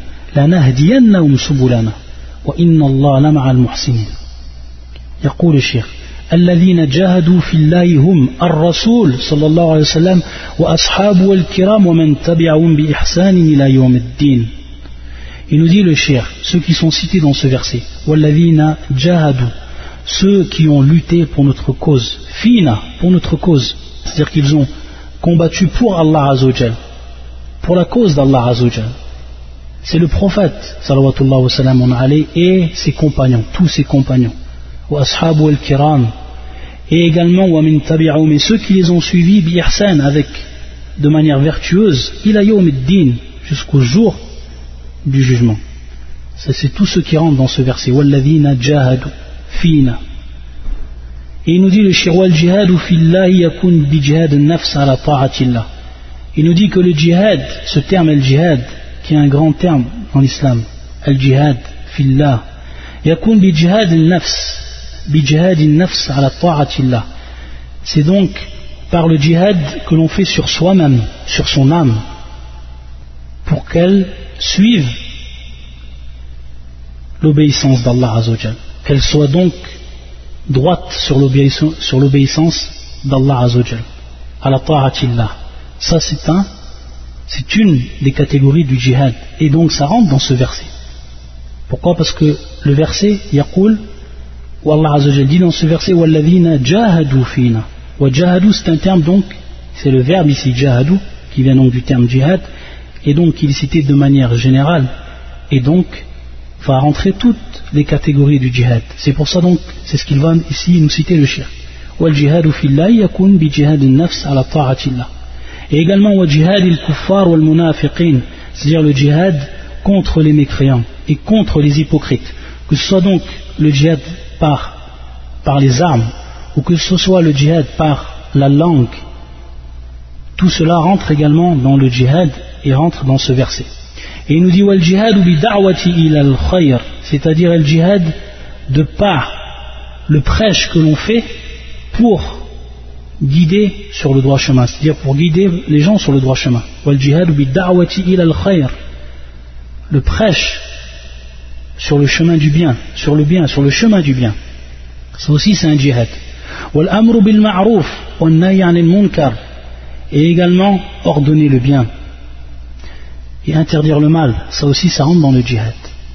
لَنَهْدِيَنَّهُمْ سُبُلَنَا وَإِنَّ اللَّهَ لَمَعَ الْمُحْسِنِينَ. يقول الشيخ الذين جاهدوا في الله هم الرسول صلى الله عليه وسلم وأصحابه الكرام ومن تبعهم بإحسان إلى يوم الدين. Il nous dit le cheikh, ceux qui sont cités dans ce verset, والذين جاهدوا, ceux qui ont lutté pour notre cause, fina, pour notre cause, c'est-à-dire qu'ils ont combattu pour Allah Azzawajal, pour la cause d'Allah Azzawajal. C'est le prophète salawatullah wa salam alayhi et ses compagnons, tous ses compagnons, wa ashabu al-kiram, et également wa min tabi'ahum, et ceux qui les ont suivis bi ihsan, avec de manière vertueuse, ila yawm ad-din, jusqu'au jour du jugement. Ça, c'est tous ceux qui rentrent dans ce verset, walladhina jahadu fina. Et il nous dit le shir wal jihadu fillahi yakun bi jihad an-nafs ala ta'atillah. Il nous dit que le djihad, ce terme al-jihad, qui est un grand terme dans l'islam, al-jihad fillah, yakun bi jihad an-nafs, bi jihad an-nafs ala ta'atillah. C'est donc par le djihad que l'on fait sur soi-même, sur son âme, pour qu'elle suive l'obéissance d'Allah Azzawajal, qu'elle soit donc droite sur l'obéissance, sur l'obéissance d'Allah Azzawajal, à la ta'atillah. Ça c'est un, c'est une des catégories du djihad, et donc ça rentre dans ce verset. Pourquoi? Parce que le verset yaqul, ou Allah Azzawajal dit dans ce verset walladhina jahadu fina. Wa jahadu, c'est un terme donc, c'est le verbe ici jahadu, qui vient donc du terme djihad, et donc il est cité de manière générale, et donc va rentrer toutes les catégories du djihad. C'est pour ça donc, c'est ce qu'il va ici nous citer le shirk. Wal jihadu fillahi yakun bi jihad an-nafs ala ta'atillah. Et également wa jihad al-kuffar wal munafiqin, c'est-à-dire le djihad contre les mécréants et contre les hypocrites. Que ce soit donc le djihad par, par les armes, ou que ce soit le djihad par la langue, tout cela rentre également dans le djihad et rentre dans ce verset. Et il nous dit wal jihad bi da'wati ila al-khayr, c'est-à-dire le djihad de par le prêche que l'on fait pour guider sur le droit chemin, c'est-à-dire pour guider les gens sur le droit chemin. Wal jihad bi da'wati ila al-khayr, le prêche sur le chemin du bien, sur le bien, sur le chemin du bien. Ça aussi c'est un djihad. Wal amru bil ma'ruf wan nahy 'anil munkar, et également ordonner le bien et interdire le mal, ça aussi ça rentre dans le djihad.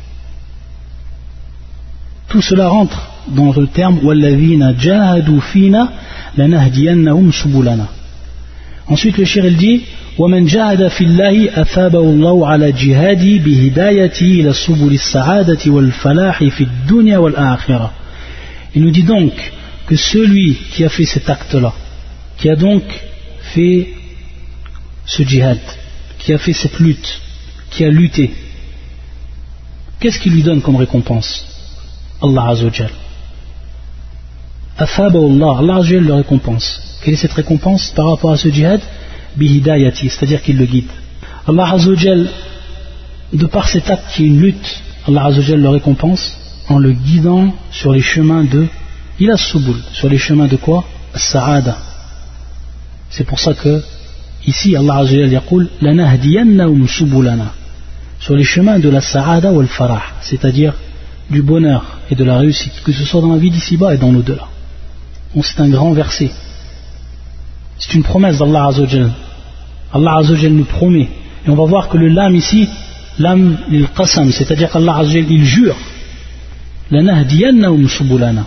Tout cela rentre dans le terme walladhina jahadu fina lanahdiyannahum subulana. Ensuite le shir il dit wa man jahada fillahi athabahu Allahu ala jihadi bihidayati ila subuli as-sa'adati wal falahi fi ad-dunya wal akhirah. Il nous dit donc que celui qui a fait cet acte là, qui a donc fait ce djihad, qui a fait cette lutte, qui a lutté, qu'est-ce qu'il lui donne comme récompense? Allah Azzawajal. Athabahu Allah, Allah Azzawajal le récompense. Quelle est cette récompense par rapport à ce djihad? Bihidayati, c'est-à-dire qu'il le guide. Allah Azzawajal, de par cet acte qui est une lutte, Allah Azzawajal le récompense en le guidant sur les chemins de ila subul, sur les chemins de quoi? As-sa'ada. C'est pour ça que ici Allah Azzawajal yaqul lanahdiyannahum subulana, sur les chemins de la sa'ada ou al-farah, c'est-à-dire du bonheur et de la réussite, que ce soit dans la vie d'ici-bas et dans l'au-delà. Donc c'est un grand verset, c'est une promesse d'Allah Azzawajal. Allah Azzawajal nous promet, et on va voir que le lam ici, lam lil qasam, c'est-à-dire qu'Allah Azzawajal il jure lanahdiyannahum subulana,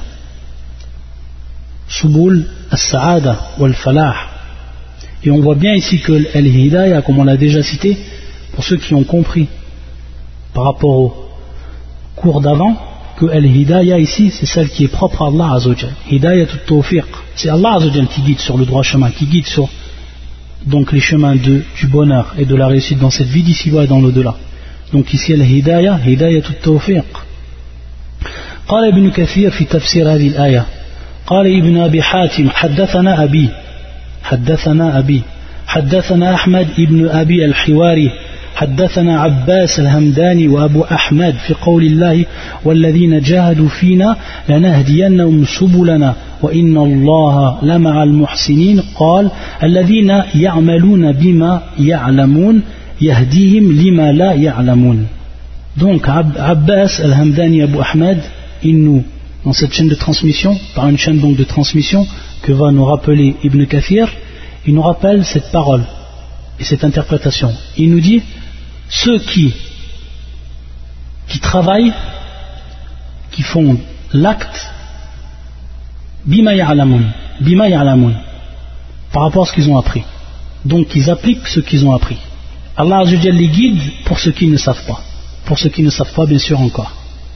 subul as-sa'ada wal falah. Et on voit bien ici que al-hidayah, comme on l'a déjà cité, pour ceux qui ont compris par rapport au cours d'avant, que al-hidayah ici c'est celle qui est propre à Allah Azzawajal. Hidayah tut-tawfiq, c'est Allah Azzawajal qui guide sur le droit chemin, qui guide sur donc les chemins de, du bonheur et de la réussite dans cette vie d'ici-bas et dans l'au-delà. Donc ici al-hidayah, hidayah tut-tawfiq. قال ابن كثير في تفسير هذه الآية قال ابن أبي حاتم حدثنا أبي حدثنا أبي حدثنا أحمد ابن أبي الحواري حدثنا عباس الهمداني وأبو أحمد في قول الله والذين جاهدوا فينا لنهدينهم سبلنا وإن الله لمع المحسنين قال الذين يعملون بما يعلمون يهديهم لما لا يعلمون. Donc Abbas al-Hamdani Abu Ahmad il nous dans cette chaîne de transmission, par une chaîne donc de transmission que va nous rappeler Ibn Kathir, il nous rappelle cette parole et cette interprétation. Il nous dit, ceux qui, qui travaillent, qui font l'acte, bima ya'lamun, bima ya'lamun, par rapport à ce qu'ils ont appris. Donc ils appliquent ce qu'ils ont appris. Allah Azza wa Jalla les guide pour ceux qui ne savent pas. Pour ceux qui ne savent pas, bien sûr, encore.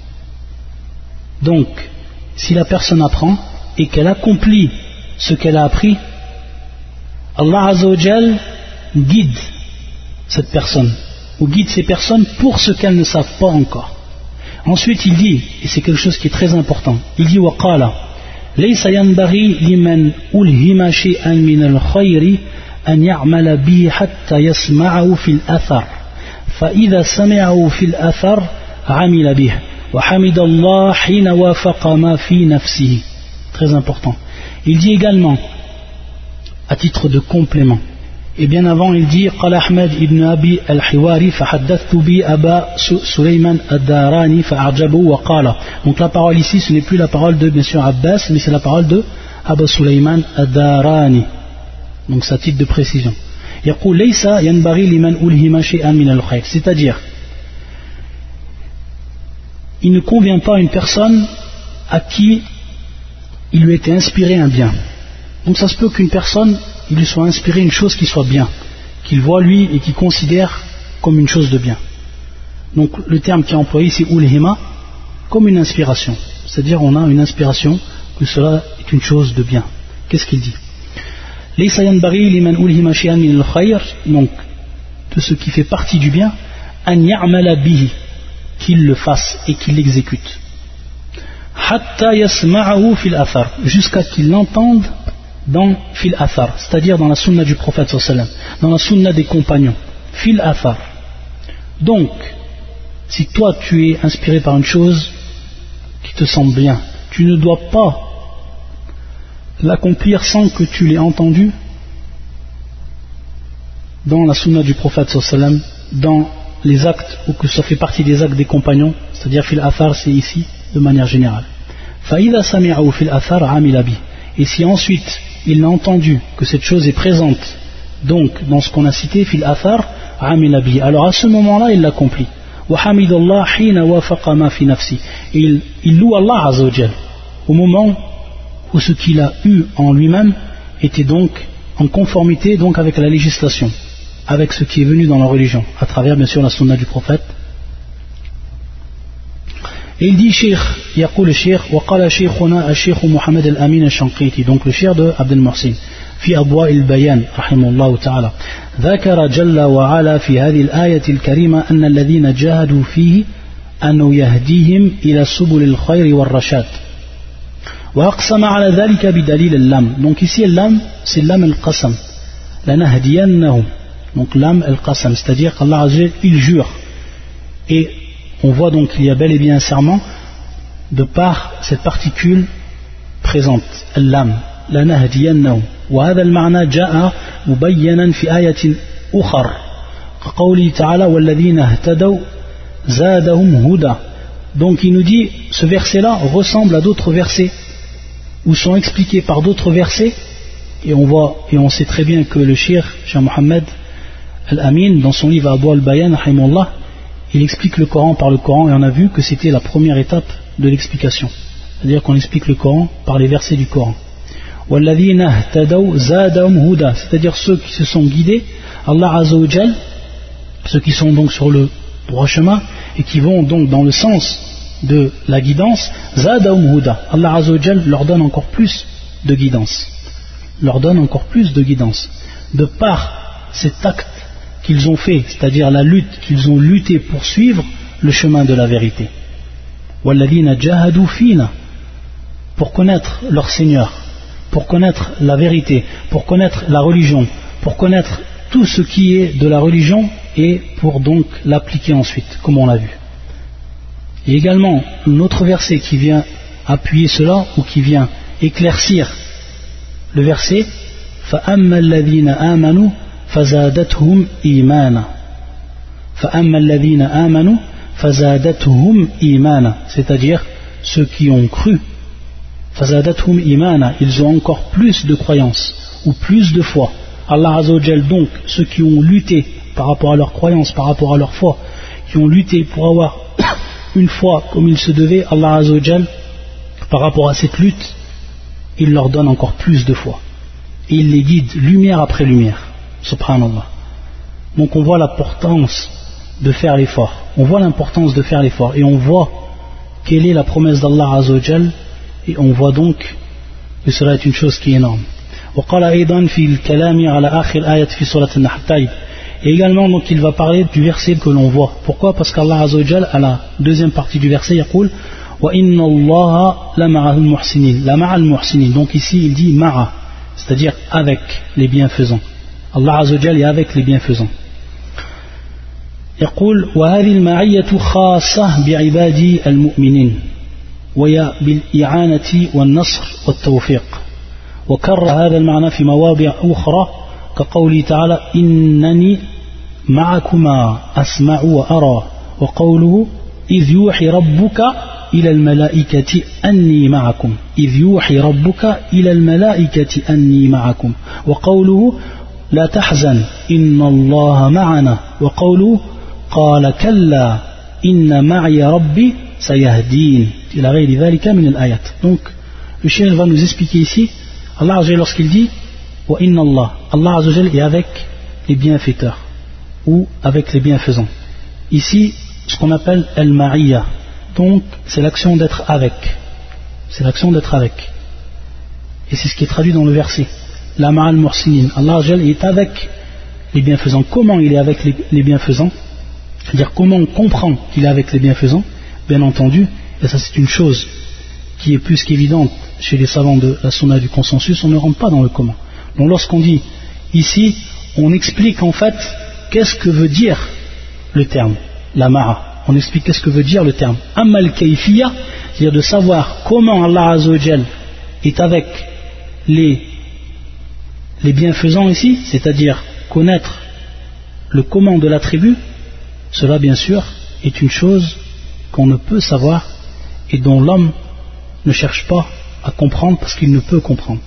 Donc, si la personne apprend et qu'elle accomplit ce qu'elle a appris, Allah Azza wa Jalla guide cette personne, ou guide ces personnes pour ce qu'elles ne savent pas encore. Ensuite, il dit, et c'est quelque chose qui est très important, il dit وَقَالَ لَيْسَ يَنْبَغِي لِمَنْ أُلْهِمَ شَيْئًا مِنَ الْخَيْرِ أن يعمل به حتى يسمعه في الأثر فإذا سمعه في الأثر عمل به وحمد الله حين وافق ما في نفسه. Très important. Il dit également, à titre de complément, et bien avant il dit قال أحمد ابن أبي الحواري فحدثت بي أبا سليمان الداراني فأعجبه وقال. Donc la parole ici ce n'est plus la parole de bien sûr Abbas, mais c'est la parole de Abu Sulaiman ad-Darani. Donc c'est à titre de précision. يقول ليس ينبغي لمن ألهم شيئا من الخير, c'est-à-dire il ne convient pas à une personne à qui il lui était inspiré un bien. Donc ça se peut qu'une personne il lui soit inspiré une chose qui soit bien, qu'il voit lui et qu'il considère comme une chose de bien. Donc le terme qui est employé c'est ulhima, comme une inspiration, c'est-à-dire on a une inspiration que cela est une chose de bien. Qu'est-ce qu'il dit? ليس ينبغي لمن ألهم شيئا من الخير, donc de ce qui fait partie du bien, أن يعمل به, qu'il le fasse et qu'il l'exécute, حتى يسمعه في الأثر, jusqu'à qu'il l'entende dans fil athar, c'est-à-dire dans la sunna du prophète sallallahu alayhi wa sallam, dans la sunna des compagnons, fil athar. Donc si toi tu es inspiré par une chose qui te semble bien, tu ne dois pas l'accomplir sans que tu l'aies entendu dans la sunna du prophète sallallahu alayhi wa sallam, dans les actes, ou que ça fait partie des actes des compagnons, c'est-à-dire fil athar, c'est ici de manière générale. فَإِذَا سَمِعَهُ فِي الْأَثَرِ عَمِلَ بِهِ, et si ensuite il a entendu que cette chose est présente donc dans ce qu'on a cité fil athar عَمِلَ بِهِ, alors à ce moment-là il l'accomplit. وَحَمِدَ اللَّهَ حِينَ وَافَقَ مَا فِي نَفْسِهِ, et il, il loue Allah Azza wa Jal au moment où ce qu'il a eu en lui-même était donc en conformité donc avec la législation, avec ce qui est venu dans la religion, à travers bien sûr la sunna du prophète. Et il dit Cheikh, يقول الشيخ وقال شيخنا الشيخ محمد الأمين الشنقيطي, donc le cheikh de Abdel Mohsin, في أضواء البيان رحمه الله تعالى, ذكر جل وعلا في هذه الآية الكريمة أن الذين جاهدوا فيه أنه يهديهم إلى سبل الخير والرشاد. وأقسم على ذلك بدليل اللام. Donc ici l'lam c'est l'lam al-qasam, لنهدينهم, donc l'lam al-qasam, c'est-à-dire qu'Allah Azza wa Jalla il jure, et on voit donc qu'il y a bel et bien un serment de par cette particule présente, l'lam, لنهدينهم. وهذا المعنى جاء مبينا في آية أخرى كقوله تعالى والذين اهتدوا زادهم هدى. Donc il nous dit, ce verset-là ressemble à d'autres versets ou sont expliqués par d'autres versets, et on voit et on sait très bien que le Cheikh Cheikh Mohammed Al-Amin dans son livre Abwa al-Bayan rahimahullah, il explique le Coran par le Coran, et on a vu que c'était la première étape de l'explication, c'est-à-dire qu'on explique le Coran par les versets du Coran. وَالَّذِينَ اهْتَدَوْا زَادَهُمْ هُدًى, c'est-à-dire ceux qui se sont guidés, Allah Azza wa Jal, ceux qui sont donc sur le droit chemin et qui vont donc dans le sens de la guidance, زَادَهُمْ هُدًى, Allah Azza wa Jal leur donne encore plus de guidance, leur donne encore plus de guidance, de par cet acte qu'ils ont fait, c'est-à-dire la lutte qu'ils ont lutté pour suivre le chemin de la vérité. وَالَّذِينَ جَاهَدُوا فِينَا, pour connaître leur Seigneur, pour connaître la vérité, pour connaître la religion, pour connaître tout ce qui est de la religion et pour donc l'appliquer ensuite, comme on l'a vu. Et également, un autre verset qui vient appuyer cela ou qui vient éclaircir le verset, فَأَمَّا الَّذِينَ آمَنُوا فَزَادَتْهُمْ إِيمَانًا فَأَمَّا الَّذِينَ آمَنُوا فَزَادَتْهُمْ إِيمَانًا, c'est-à-dire ceux qui ont cru, فزادتهم إيمانا, ils ont encore plus de croyance ou plus de foi. Allah Azza wa Jal, donc ceux qui ont lutté par rapport à leur croyance, par rapport à leur foi, qui ont lutté pour avoir une foi comme il se devait, Allah Azza wa Jal, par rapport à cette lutte, il leur donne encore plus de foi. Et il les guide lumière après lumière. Subhanallah. Donc on voit l'importance de faire l'effort. On voit l'importance de faire l'effort. Et on voit quelle est la promesse d'Allah Azza wa Jal. Et on voit donc que cela est une chose qui est énorme. وقال أيضا في الكلام على آخر آية في سورة النحل. طيب. Et également donc il va parler du verset que l'on voit. Pourquoi? Parce qu'Allah Azza wa Jal, à la deuxième partie du verset, يقول وإن الله لمع المحسنين. لمع المحسنين. Donc ici il dit ma'a, c'est-à-dire avec les bienfaisants. Allah Azza wa Jal est avec les bienfaisants. يقول وهذه المعية خاصة بعبادي المؤمنين وهي بالإعانة والنصر والتوفيق. وكرر هذا المعنى في مواضع أخرى كقوله تعالى إنني معكما أسمع وأرى, وقوله إذ يوحي ربك إلى الملائكة أني معكم إذ يوحي ربك إلى الملائكة أني معكم, وقوله لا تحزن إن الله معنا, وقوله قال كلا إن معي ربي سيهدين إلى غير ذلك من الآيات. Donc le cheikh va nous expliquer ici Allah Azza wa Jal lorsqu'il dit wa inna Allah, Allah Azza wa Jal est avec les bienfaiteurs ou avec les bienfaisants. Ici ce qu'on appelle al-ma'iyya, donc c'est l'action d'être avec, c'est l'action d'être avec, et c'est ce qui est traduit dans le verset la ma'al muhsinin. Allah Azza wa Jal est avec les bienfaisants. Comment il est avec les, les bienfaisants? C'est-à-dire comment on comprend qu'il est avec les bienfaisants? Bien entendu, et ça c'est une chose qui est plus qu'évidente chez les savants de la sunna du consensus, on ne rentre pas dans le comment. Donc lorsqu'on dit ici, on explique en fait qu'est-ce que veut dire le terme, la ma'a. On explique qu'est-ce que veut dire le terme. Amal kayfiyya, c'est-à-dire de savoir comment Allah Azza wa Jal est avec les, les bienfaisants ici, c'est-à-dire connaître le comment de l'attribut, cela bien sûr est une chose qu'on ne peut savoir et dont l'homme ne cherche pas à comprendre parce qu'il ne peut comprendre.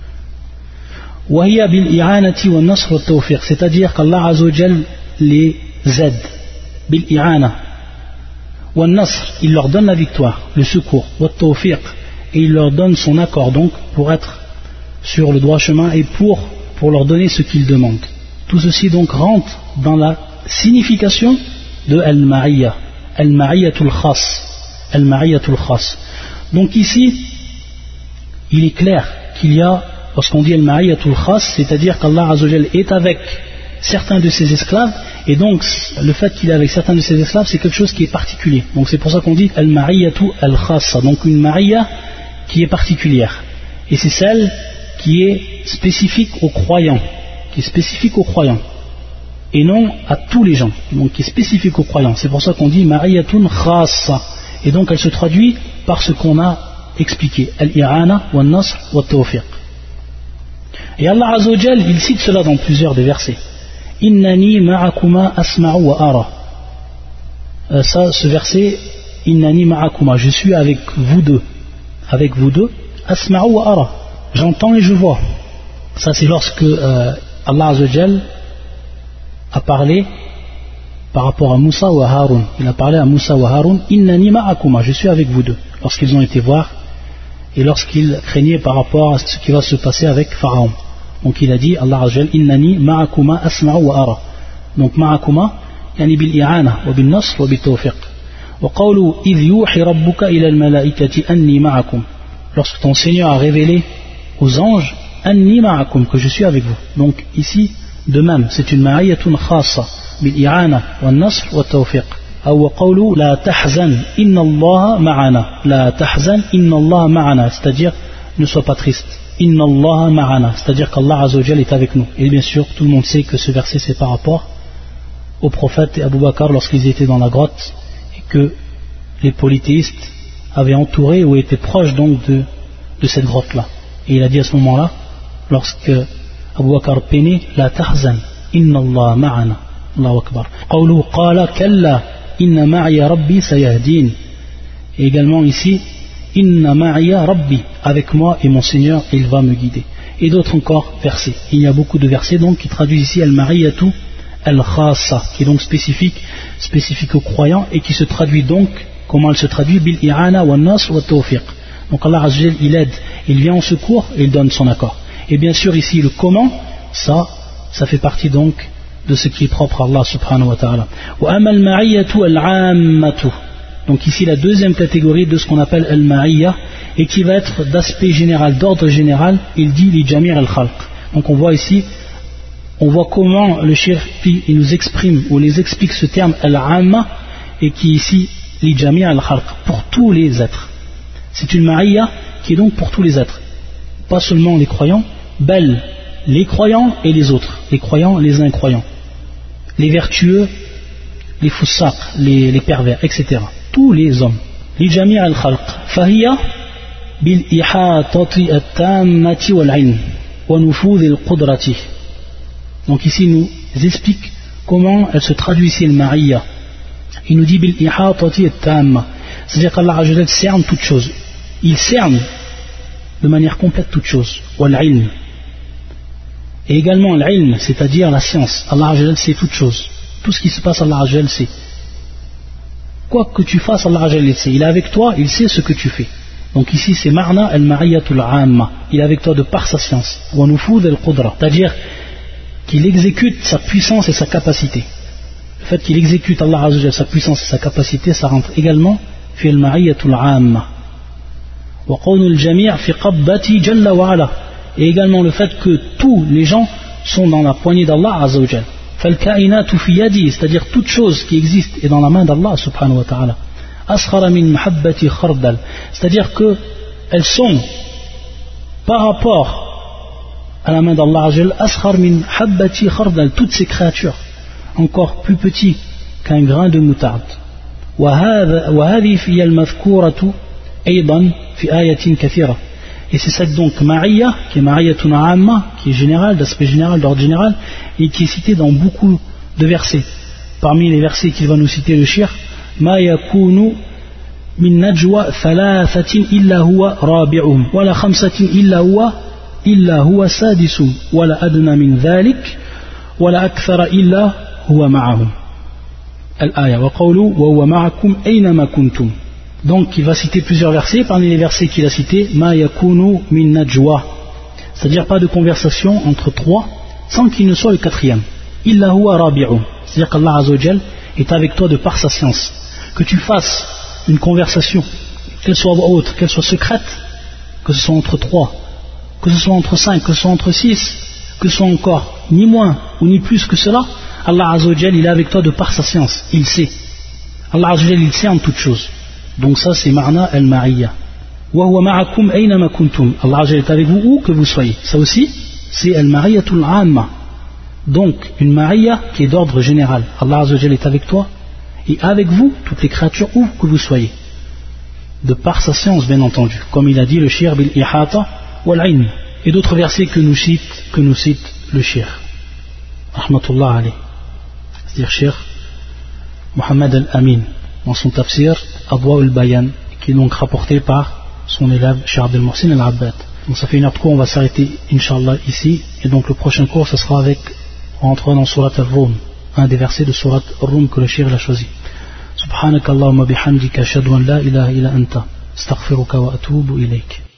C'est-à-dire qu'Allah Azza wa Jal les aide bil i'ana wa nasr, il leur donne la victoire, le secours, wa tawfiq, et il leur donne son accord donc pour être sur le droit chemin et pour, pour leur donner ce qu'ils demandent. Tout ceci donc rentre dans la signification de al-ma'iyya, al-ma'iyyatul khas, al-ma'iyyatul khas. Donc ici il est clair qu'il y a, lorsqu'on dit al-ma'iyyatul khas, c'est-à-dire qu'Allah Azza wa Jal est avec certains de ses esclaves, et donc le fait qu'il est avec certains de ses esclaves c'est quelque chose qui est particulier. Donc c'est pour ça qu'on dit al-ma'iyyatu al-khassa, donc une ma'iyya qui est particulière, et c'est celle qui est spécifique aux croyants, qui est spécifique aux croyants et non à tous les gens, donc qui est spécifique aux croyants. C'est pour ça qu'on dit ma'iyyatun khassa, et donc elle se traduit par ce qu'on a expliqué, al-i'ana wa nasr wa tawfiq. Et Allah Azza wa Jal il cite cela dans plusieurs des versets. Innani ma'akuma asma'u wa ara. Euh, ça, ce verset, Innani ma'akuma, je suis avec vous deux, avec vous deux, asma'u wa ara, j'entends et je vois. Ça c'est lorsque euh, Allah Azza wa Jal a parlé par rapport à Moussa ou à Haroun. Il a parlé à Moussa ou à Haroun, Innani ma'akuma, je suis avec vous deux, lorsqu'ils ont été voir et lorsqu'ils craignaient par rapport à ce qui va se passer avec Pharaon. Donc il a dit, Allah Azza wa Jal, Innani ma'akuma asma'u wa ara. Donc ma'akuma, yani bil i'ana wa bil nasr wa bil tawfiq. Wa qawlu idh yuhi rabbuka ila al malaikati anni ma'akum. Lorsque ton Seigneur a révélé aux anges, anni ma'akum, que je suis avec vous. Donc ici, de même, c'est une ma'iyyatun khassa bil i'ana wa nasr wa tawfiq. Ou qawlu la tahzan inna Allah ma'ana. La tahzan inna Allah ma'ana, c'est-à-dire ne sois pas triste. Inna Allah ma'ana, c'est-à-dire qu'Allah Azza wa Jal est avec nous. Et bien sûr, tout le monde sait que ce verset c'est par rapport au prophète et Abu Bakr lorsqu'ils étaient dans la grotte et que les polythéistes avaient entouré ou étaient proches donc de, de cette grotte-là. Et il a dit à ce moment-là, lorsque Abu Bakr peinait, la tahzan inna Allah ma'ana. Allahu Akbar. Qawlu qala kalla inna ma'iya rabbi sayahdin. Et également ici, inna ma'iya rabbi, avec moi et mon Seigneur il va me guider. Et d'autres encore versets. Il y a beaucoup de versets donc qui traduisent ici al-ma'iyatu al-khassa, qui est donc spécifique, spécifique aux croyants et qui se traduit donc, comment elle se traduit, bil-i'ana wa nas wa tawfiq. Donc Allah Azza wa Jalla, il aide, il vient en secours et il donne son accord. Et bien sûr ici le comment, ça, ça fait partie donc de ce qui est propre à Allah subhanahu wa ta'ala. Wa amal ma'iyatu al-ammatu. Donc ici la deuxième catégorie de ce qu'on appelle al-ma'iyya et qui va être d'aspect général, d'ordre général, il dit li jami' al-khalq. Donc on voit ici, on voit comment le cheikh il nous exprime ou les explique ce terme al-amma et qui ici li jami' al-khalq, pour tous les êtres. C'est une ma'iyya qui est donc pour tous les êtres, pas seulement les croyants, bel, les croyants et les autres, les croyants, les incroyants, les vertueux, les foussaq, les, les pervers, et cetera. Tous les hommes. Li jami' al-khalq. Fahiya bil ihatati at-tammati wal-ilm wa nufudh al-qudrati. Donc ici il nous explique comment elle se traduit ici le ma'iyya. Il nous dit bil ihatati at-tamma, c'est-à-dire qu'Allah Azza wa Jalla cerne toute chose. Il cerne de manière complète toute chose. Wal-ilm. Et également l'ilm, c'est-à-dire la science. Allah Azza wa Jalla sait toute chose. Tout ce qui se passe, Allah Azza wa Jalla sait. Quoi que tu fasses, Allah Azza wa Jalla sait. Il est avec toi, il sait ce que tu fais. Donc ici c'est ma'na al-ma'iyyatul 'amma. Il est avec toi de par sa science. Wa nufudh al-qudra. C'est-à-dire qu'il exécute sa puissance et sa capacité. Le fait qu'il exécute Allah Azza wa Jalla sa puissance et sa capacité, ça rentre également fi al-ma'iyyatul 'amma. Wa qawnu al-jami' fi qabbati jalla wa 'ala. Et également le fait que tous les gens sont dans la poignée d'Allah Azza wa Jalla. Fal-ka'inatu fi yadi, c'est-à-dire toute chose qui existe est dans la main d'Allah subhanahu wa ta'ala. Asghara min mahabbati khardal, c'est-à-dire que elles sont par rapport à la main d'Allah Azza wa Jalla, asghar min mahabbati khardal, toutes ces créatures encore plus petits qu'un grain de moutarde. Wa hadhihi fi al-madhkuratu aydan fi ayatin kathira. Et c'est cette donc ma'iyya, qui est ma'iyatun 'amma, qui est générale, d'aspect général, d'ordre général, et qui est citée dans beaucoup de versets. Parmi les versets qu'il va nous citer le cheikh, ma yakunu min najwa thalathatin illa huwa rabi'uhum, wala khamsatin illa huwa illa huwa sadisuhum, wala adna min dhalik, wala akthara illa huwa ma'ahum. Al-aya wa qawlu wa huwa ma'akum aynama kuntum. Donc il va citer plusieurs versets. Parmi les versets qu'il a cités, ma yakunu min najwa, c'est-à-dire pas de conversation entre trois sans qu'il ne soit le quatrième. Illa huwa rabi'u, c'est-à-dire qu'Allah Azza wa Jal est avec toi de par sa science. Que tu fasses une conversation, qu'elle soit haute, qu'elle soit secrète, que ce soit entre trois, que ce soit entre cinq, que ce soit entre six, que ce soit encore ni moins ou ni plus que cela, Allah Azza wa Jal il est avec toi de par sa science, il sait. Allah Azza wa Jal il sait en toutes choses. Donc ça c'est ma'na al-ma'iyya. Wa huwa ma'akum aynama kuntum. Allah Azza wa Jalla est avec vous où que vous soyez. Ça aussi c'est al-ma'iyyatul 'amma. Donc une ma'iyya qui est d'ordre général. Allah Azza wa Jalla est avec toi et avec vous toutes les créatures où que vous soyez. De par sa science bien entendu. Comme il a dit le cheikh bil ihata wal 'ilm. Et d'autres versets que nous cite que nous cite le cheikh. Rahmatullah alayh. C'est-à-dire cheikh Muhammad al-Amin dans son tafsir Adwa al-Bayan, qui est donc rapporté par son élève Cheikh Abdel Mohsin al-Abbad. Donc ça fait une heure de cours, on va s'arrêter Inch'Allah ici, et donc le prochain cours ça sera avec, on rentrera dans Surat al-Rum, un des versets de Surat al-Rum que le Cheikh a choisi. Subhanakallahumma bihamdika ashhadu an la ilaha illa anta astaghfiruka wa atubu ilayk.